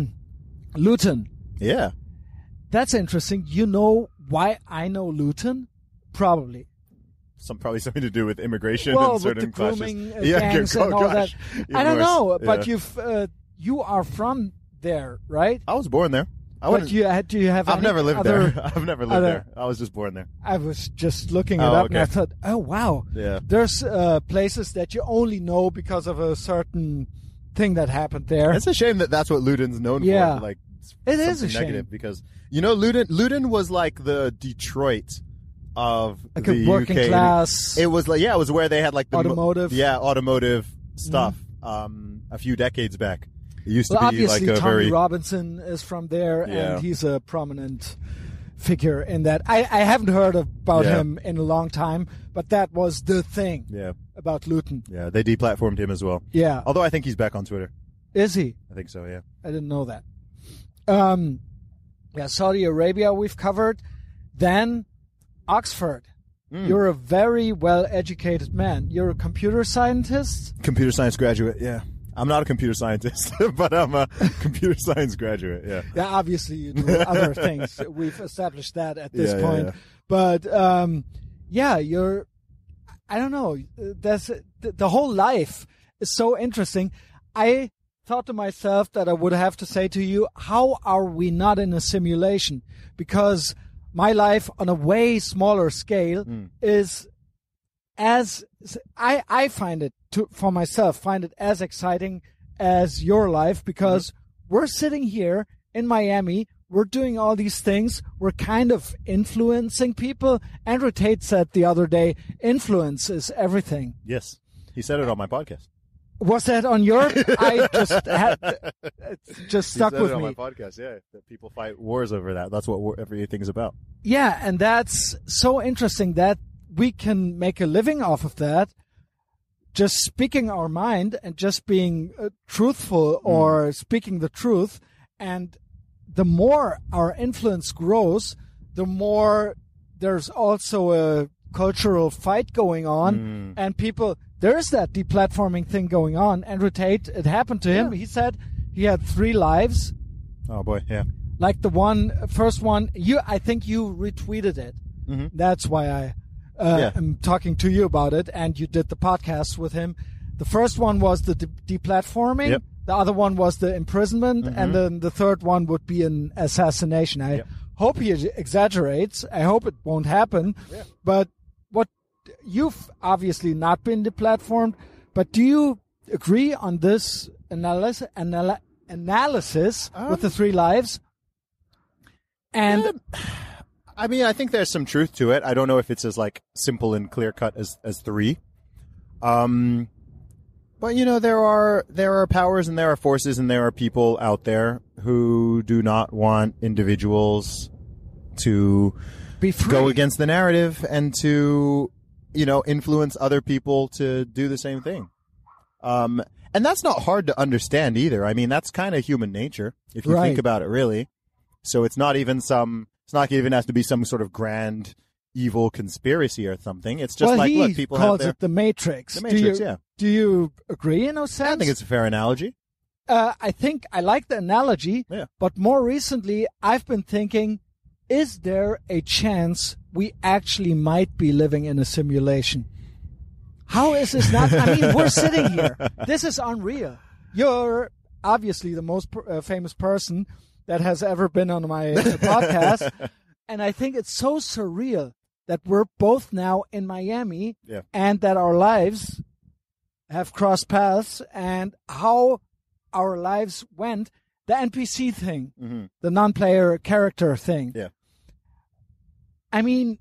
Luton. Yeah. That's interesting. You know why I know Luton? Probably. Some probably something to do with immigration Well, and with certain the grooming uh, clashes. Yeah, gangs oh, and all gosh. that. Even I don't worse. know, but Yeah. you've uh, you are from there, right? I was born there. I But wouldn't. you had do you have? I've any never lived other, there. I've never lived other- there. I was just born there. I was just looking it Oh, up, and I okay. thought, oh wow, Yeah. there's uh, places that you only know because of a certain thing that happened there. It's a shame that that's what Luton's known Yeah. for. Like, it's It is a something negative shame. because you know Luton. Luton was like the Detroit of Like the a working U K. class. It was like yeah, it was where they had like the mo- Automotive. Mm-hmm. yeah, automotive stuff. Um, a few decades back, it used well, to be obviously, like a Tommy very Robinson is from there, Yeah. and he's a prominent figure in that. I, I haven't heard about Yeah. him in a long time, but that was the thing yeah, about Luton. yeah. They deplatformed him as well. Yeah. Although I think he's back on Twitter. Is he? I think so. Yeah. I didn't know that. Um, yeah, Saudi Arabia we've covered. Then Oxford. Mm. You're a very well-educated man. You're a computer scientist? Computer science graduate. Yeah. I'm not a computer scientist, but I'm a computer science graduate. Yeah. Yeah, obviously you do other things. We've established that at this Yeah, yeah, point. yeah. But um, yeah, you're. I don't know. That's the, the whole life is so interesting. I thought to myself that I would have to say to you, how are we not in a simulation? Because my life on a way smaller scale Mm. is as I I find it to for myself find it as exciting as your life because Mm-hmm. we're sitting here in Miami, we're doing all these things, we're kind of influencing people. Andrew Tate said the other day, influence is everything. Yes. He said it on my podcast. Was that on your? I just had it just He stuck said with it on me. my podcast. Yeah. That people fight wars over that. That's what war, everything's about. Yeah, and that's so interesting that we can make a living off of that, just speaking our mind and just being uh, truthful or speaking the truth. And the more our influence grows, the more there's also a cultural fight going on, Mm. and people. There is that deplatforming thing going on. Andrew Tate, it happened to him. Yeah. He said he had three lives. Oh boy. Yeah. Like the one, first one, you, I think you retweeted it. Mhm. That's why I uh, Yeah. I'm talking to you about it, and you did the podcast with him. The first one was the de- deplatforming. Yep. The other one was the imprisonment, Mm-hmm. and then the third one would be an assassination. I Yep. hope he exaggerates. I hope it won't happen. Yeah. But what you've obviously not been deplatformed, but do you agree on this analysis anal- analysis Um, with the three lives? And Yeah. I mean, I think there's some truth to it. I don't know if it's as like simple and clear cut as as three. Um, but you know, there are there are powers and there are forces and there are people out there who do not want individuals to be free. go against the narrative and to, you know, influence other people to do the same thing. Um, and that's not hard to understand either. I mean, that's kind of human nature if you Right. think about it, really. So it's not even some. It's not even has to be some sort of grand evil conspiracy or something. It's just well, like, he look, people have calls their. it the Matrix. The do Matrix, you, yeah. Do you agree in a sense? I think it's a fair analogy. Uh, I think I like the analogy, Yeah. but more recently, I've been thinking, is there a chance we actually might be living in a simulation? How is this not? I mean, we're sitting here. This is unreal. You're obviously the most uh, famous person that has ever been on my uh, podcast, and I think it's so surreal that we're both now in Miami Yeah. and that our lives have crossed paths, and how our lives went. The N P C thing, Mm-hmm. the non-player character thing. Yeah. I mean,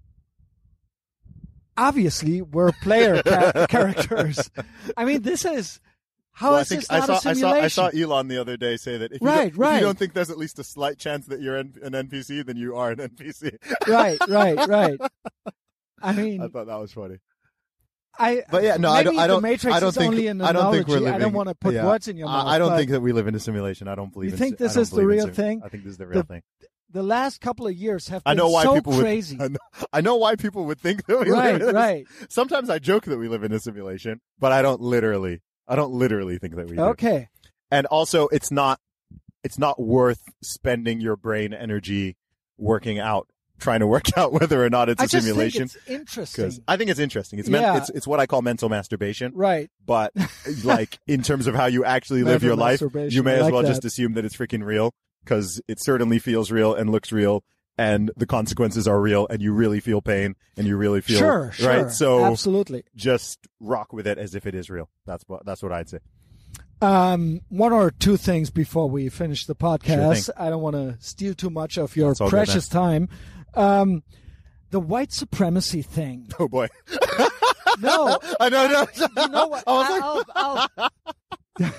obviously we're player ca- characters. I mean, this is how Well, is I think this I not saw, a I saw simulation? I saw Elon the other day say that if you, Right, don't, if right. you don't think there's at least a slight chance that you're an, an N P C, then you are an N P C. Right, right, right. I mean, I thought that was funny. I. But yeah, no, I maybe don't. I don't. the Matrix I don't is think. only an I don't think we're analogy. living. I don't want to put yeah. words in your mouth. I, I don't but think that we live in a simulation. I don't believe. You in, think si- this I don't is the believe in real sim- thing? I think this is the real The- thing. the last couple of years have been I know why so people crazy. would. I know, I know why people would think that we Right, live in a, right. Sometimes I joke that we live in a simulation, but I don't literally. I don't literally think that we do. Okay. And also, it's not. It's not worth spending your brain energy working out, trying to work out whether or not it's I a just simulation. think it's interesting. I think it's interesting. It's meant, Yeah. it's it's what I call mental masturbation. Right. But like in terms of how you actually live Mental your life, masturbation. you may I as like well that. just assume that it's freaking real because it certainly feels real and looks real, and the consequences are real, and you really feel pain, and you really feel Sure, sure. right. So absolutely. just rock with it as if it is real. That's what that's what I'd say. Um, one or two things before we finish the podcast. Sure I don't want to steal too much of your That's all good, precious time. Um, the white supremacy thing. Oh boy, No, I know, no, you know what? I was like, I'll, I'll,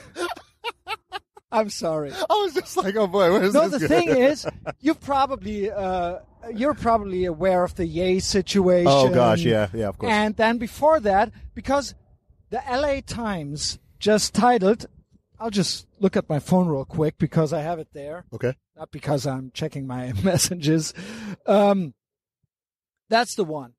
I'm sorry. I was just like, oh boy, where's No, this the going? thing is, you've probably uh, you're probably aware of the Ye situation. Oh gosh, yeah, yeah, of course. And then before that, because the L A Times just titled, I'll just look at my phone real quick because I have it there, Okay. not because I'm checking my messages. Um, that's the one.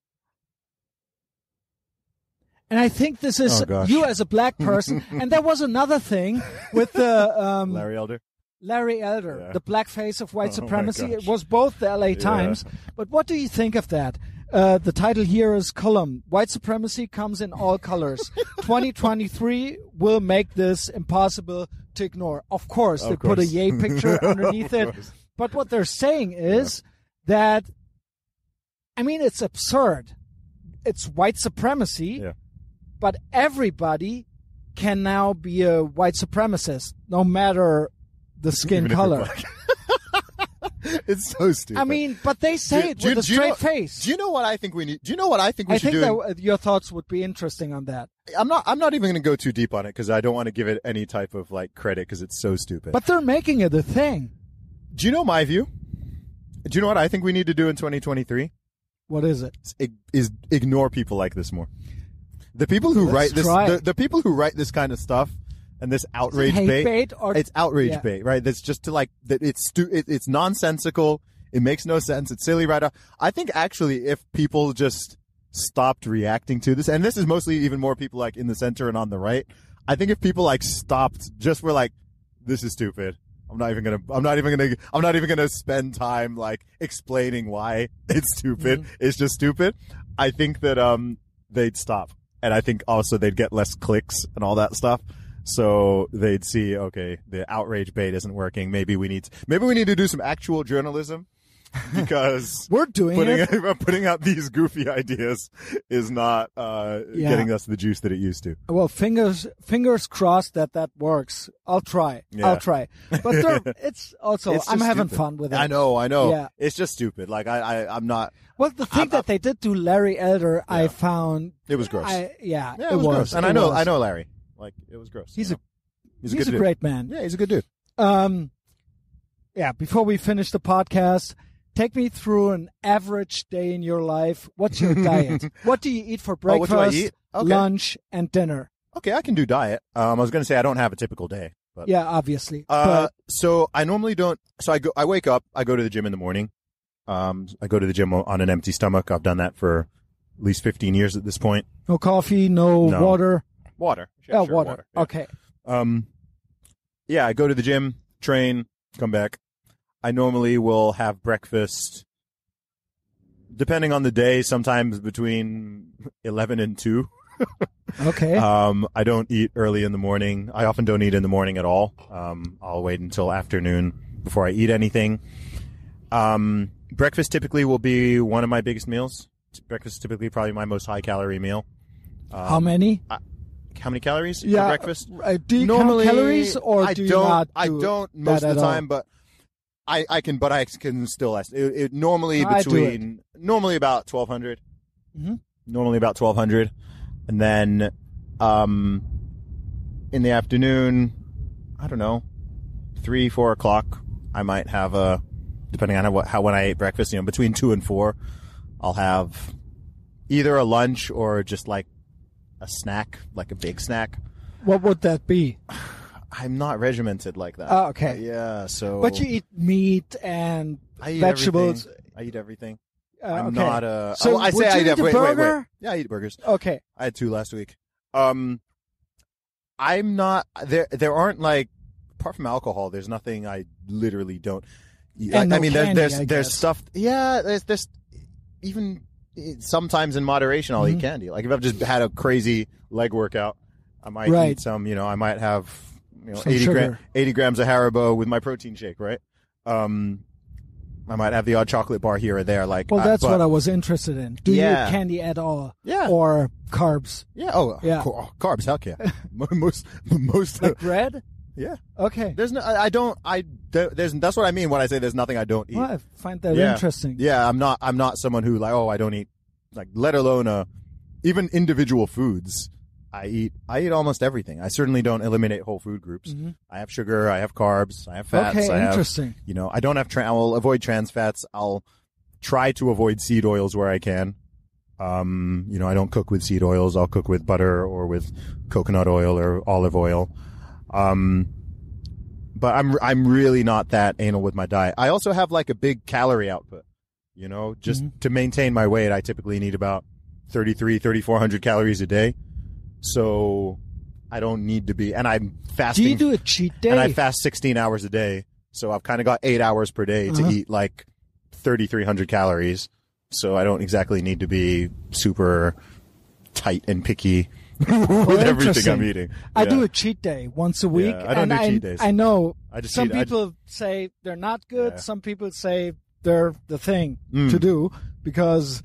And I think this is Oh, gosh. you as a black person. And there was another thing with the um, Larry Elder. Larry Elder, Yeah. the black face of white Oh, my supremacy. gosh. It was both the L A Times. But what do you think of that? Uh, the title here is column. White supremacy comes in all colors. twenty twenty-three will make this impossible to ignore. Of course, Of they put a course. yay picture underneath Of it. course. But what they're saying is that, I mean, it's absurd. It's white supremacy, Yeah. but everybody can now be a white supremacist, no matter the skin Even if you're color. black. It's so stupid. I mean, but they say Do- it do you- with a do you straight know- face. Do you know what I think we need? Do you know what I think we I should think do? that uh, your thoughts would be interesting on that. I'm not. I'm not even going to go too deep on it because I don't want to give it any type of like credit because it's so stupid. But they're making it a thing. do you know my view? Do you know what I think we need to do in twenty twenty-three? What is it? Is, is ignore people like this more. The people who Let's write this, try the, it. the people who write this kind of stuff and this outrage hate bait, bait or- it's outrage yeah. bait, right? That's just to like that. It's stu- it, it's nonsensical. It makes no sense. It's silly, right? I think actually, if people just stopped reacting to this, and this is mostly even more people like in the center and on the right. I think if people like stopped, just were like, "This is stupid." I'm not even gonna. I'm not even gonna. I'm not even gonna spend time like explaining why it's stupid. Mm-hmm. It's just stupid. I think that um they'd stop, and I think also they'd get less clicks and all that stuff. So they'd see, okay, the outrage bait isn't working. Maybe we need to, maybe we need to do some actual journalism. Because we're doing putting, it. putting out these goofy ideas is not uh, Yeah. getting us the juice that it used to. Well, fingers fingers crossed that that works. I'll try. Yeah. I'll try. But there, it's also It's I'm just having stupid. fun with it. I know, I know. Yeah. It's just stupid. Like I, I I'm not. Well, the thing I'm- that they did to Larry Elder, I Yeah. found It was gross. I, yeah, yeah, it, was, gross. And It I know, was. I know Larry. Like it was gross. He's you a know? he's he's a, good a dude. great man. Yeah, he's a good dude. Um, yeah. Before we finish the podcast, take me through an average day in your life. What's your diet? What do you eat for Oh, what breakfast, do I eat? Okay. lunch, and dinner? Okay, I can do diet. Um, I was gonna say I don't have a typical day, but Yeah, obviously. Uh, so I normally don't. So I go. I wake up. I go to the gym in the morning. Um, I go to the gym on an empty stomach. I've done that for at least fifteen years at this point. but no coffee, no, No. water. Water. Yeah, Oh, sure, water. Yeah. Okay. Um, yeah, I go to the gym, train, come back. I normally will have breakfast, depending on the day, sometimes between eleven and two. Okay. Um, I don't eat early in the morning. I often don't eat in the morning at all. Um, I'll wait until afternoon before I eat anything. Um, breakfast typically will be one of my biggest meals. Breakfast is typically probably my most high calorie meal. Um, How many? How many calories Yeah. for breakfast? Uh, do you Normally, count calories or I do you don't. not I do don't that most of at the all? time, but I, I can. But I can still. It, it normally I do between normally about twelve hundred. Mhm. Normally about twelve hundred, and then um, in the afternoon, I don't know, three four o'clock. I might have a, depending on how, how when I ate breakfast. You know, between two and four, I'll have either a lunch or just like a snack, like a big snack. What would that be? I'm not regimented like that. Oh, okay. Yeah, so. But you eat meat and I eat vegetables. everything. I eat everything. Uh, I'm okay. not a. So oh, I would say I you eat. eat ev- a wait, wait, wait. burger? Yeah, I eat burgers. Okay. I had two last week. Um, I'm not there. There aren't like, apart from alcohol, there's nothing I literally don't. eat. And I, no I mean, candy, there's I there's there's guess. stuff. Yeah, there's there's even eh, sometimes in moderation I'll Mhm. eat candy. Like if I've just had a crazy leg workout, I might Right. eat some. You know, I might have you know Some eighty gram, sugar. eighty grams of Haribo with my protein shake. Right. Um, I might have the odd chocolate bar here or there. Like, Well, uh, that's but- what I was interested in. Do you Yeah. eat candy at all? Yeah. Or carbs? Yeah. Oh, Yeah. co- oh, carbs. Heck yeah. Mo- most, most. Like bread? yeah. Okay. There's no. I, I don't. I. there- There's. That's what I mean when I say there's nothing I don't eat. Well, I find that Yeah. interesting. Yeah. I'm not. I'm not someone who like. Oh, I don't eat. Like, let alone uh, even individual foods. I eat. I eat almost everything. I certainly don't eliminate whole food groups. Mhm. I have sugar. I have carbs. I have fats. Okay, I have, interesting. You know. I don't have. Tra- I will avoid trans fats. I'll try to avoid seed oils where I can. Um, you know, I don't cook with seed oils. I'll cook with butter or with coconut oil or olive oil. Um, but I'm I'm really not that anal with my diet. I also have like a big calorie output. You know, just Mhm. to maintain my weight, I typically need about thirty-three, thirty-four hundred calories a day. So I don't need to be, and I'm Do fasting. you do a cheat day? And I fast sixteen hours a day. So I've kind of got eight hours per day Uh-huh. to eat like thirty-three hundred calories. So I don't exactly need to be super tight and picky with everything interesting. I'm eating. I Yeah. do a cheat day once a week. I don't and do I, cheat days. I know I just some eat- I- people say they're not good. Yeah. Some people say they're the thing Mm. to do because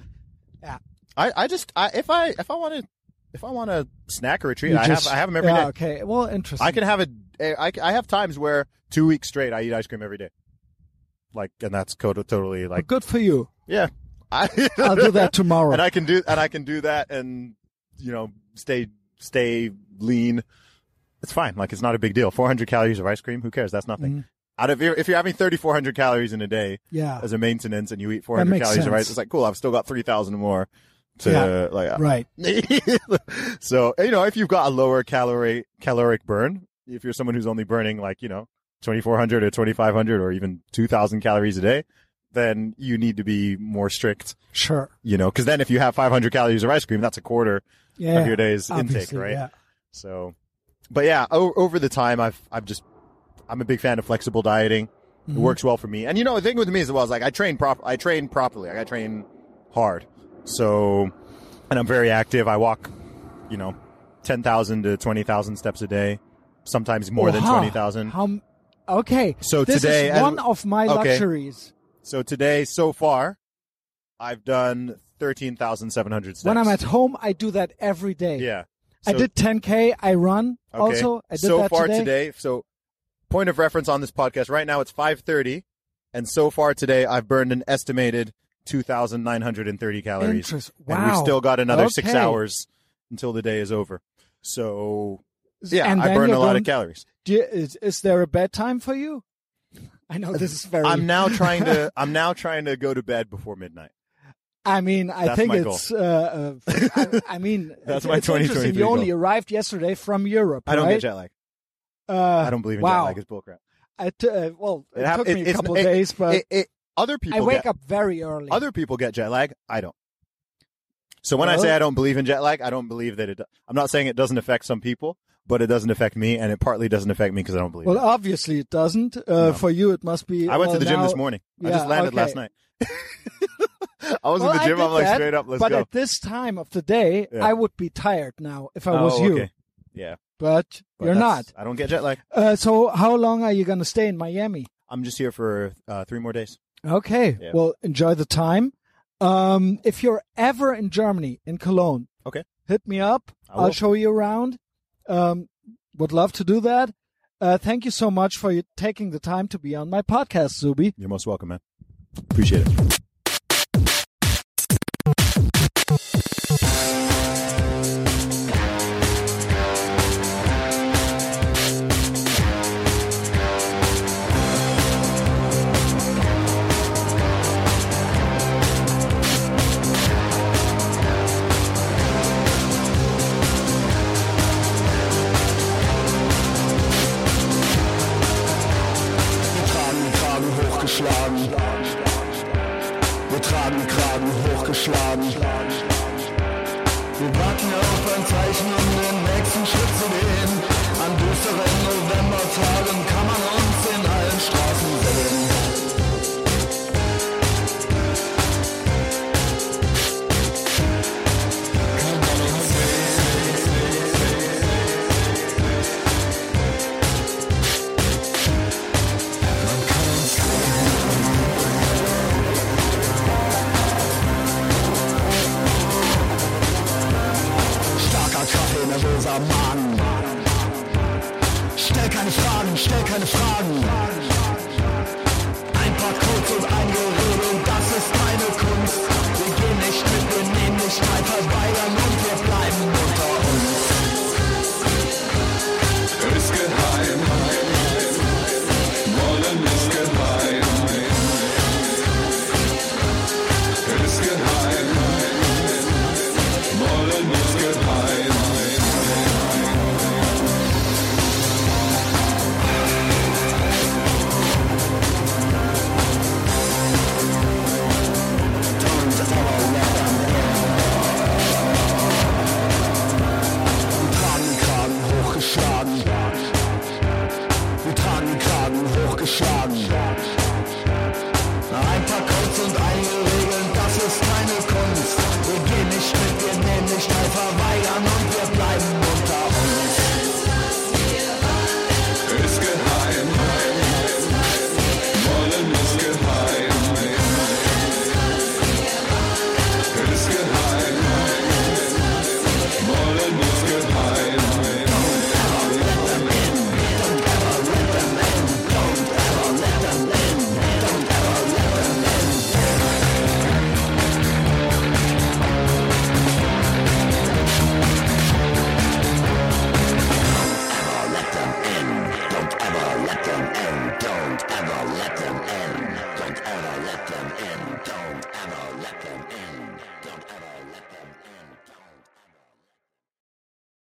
I, I just I, if I if I want to if I want a snack or a treat, you I just, have I have them every day. yeah, Okay. Well, interesting. I can have a I, I have times where two weeks straight I eat ice cream every day. Like, and that's co- totally Well, like good for you. yeah. I, I'll do that tomorrow. and I can do and I can do that and you know stay stay lean. It's fine. Like it's not a big deal. four hundred calories of ice cream. Who cares? That's nothing. Mhm. Out of if you're having thirty-four hundred calories in a day Yeah. as a maintenance and you eat four That hundred makes calories of sense. rice, it's like cool. I've still got three thousand more to Yeah. like. Right. So you know if you've got a lower calorie caloric burn, if you're someone who's only burning like you know twenty-four hundred or twenty-five hundred or even two thousand calories a day, then you need to be more strict. Sure. You know, because then if you have five hundred calories of ice cream, that's a quarter Yeah. of your day's intake, obviously, right? Yeah. So, but yeah, o- over the time, I've I've just I'm a big fan of flexible dieting. It Mhm. works well for me. And you know, the thing with me is well, is like I train prop I train properly. Like I train hard. So, and I'm very active. I walk, you know, ten thousand to twenty thousand steps a day, sometimes more than Oha. twenty thousand. How? Okay. So this today, is one as- of my okay. luxuries. So today, so far, I've done thirteen thousand seven hundred steps. When I'm at home, I do that every day. Yeah. I So- did ten K. I run Okay. also. I did so that far today. so point of reference on this podcast, right now it's five thirty, and so far today I've burned an estimated two thousand nine hundred thirty calories. Interest- And we've wow. still got another six Okay. hours until the day is over. So, yeah, And I then burned a you're lot going- of calories. Do you, is, is there a bedtime for you? I know this is very. I'm now trying to I'm now trying to go to bed before midnight. I mean, I That's think my it's. Uh, uh, I, I mean, That's it's, my it's twenty interesting. twenty-three You only goal. arrived yesterday from Europe. I don't right? get jet lag. Uh, I don't believe in wow. jet lag. It's bullcrap. I t- uh, well, it, It hap- took it- me a it's- couple it- of days, but It, it, other people I wake get, up very early. Other people get jet lag. I don't. So when I Well- say I don't believe in jet lag, I don't believe that it. I'm not saying it doesn't affect some people, but it doesn't affect me, and it partly doesn't affect me because I don't believe well, it. obviously it doesn't. Uh, No. For you, it must be. I went well, to the gym now- this morning. I yeah, just landed okay. last night. I was Well, in the I gym. did I'm like, that, straight up, let's but go. at this time of the day, Yeah. I would be tired now if I oh, was you. okay. Yeah, But, but you're not. that's- I don't get jet lag. Uh, so how long are you going to stay in Miami? I'm just here for uh, three more days. Okay. Yeah. Well, enjoy the time. Um, if you're ever in Germany, in Cologne, Okay. hit me up. I will. I'll show you around. Um, would love to do that. Uh, thank you so much for you taking the time to be on my podcast, Zubi. You're most welcome, man. Appreciate it. Wir tragen die Kragen hochgeschlagen. Wir tragen die Kragen hochgeschlagen. Wir warten auf ein Zeichen, um den nächsten Schritt zu gehen. An düsteren Novembertagen kann man uns in allen Straßen sehen. Kann man uns Starker Kaffee, nervöser Magen. Stell keine Fragen, stell keine Fragen. Ein paar Codes und ein Gerede, das ist meine Kunst. Wir gehen nicht mit, wir nehmen nicht teil, verweigern und wir bleiben unter uns. Ist geheim, wollen ist geheim, ist geheim, wollen ist geheim. Wir tragen die Kragen hochgeschlagen. Wir tragen die Kragen hochgeschlagen. Ein paar Codes und einige Regeln, das ist keine Kunst. Wir gehen nicht mit, wir nehmen nicht teil, verweigern und wir bleiben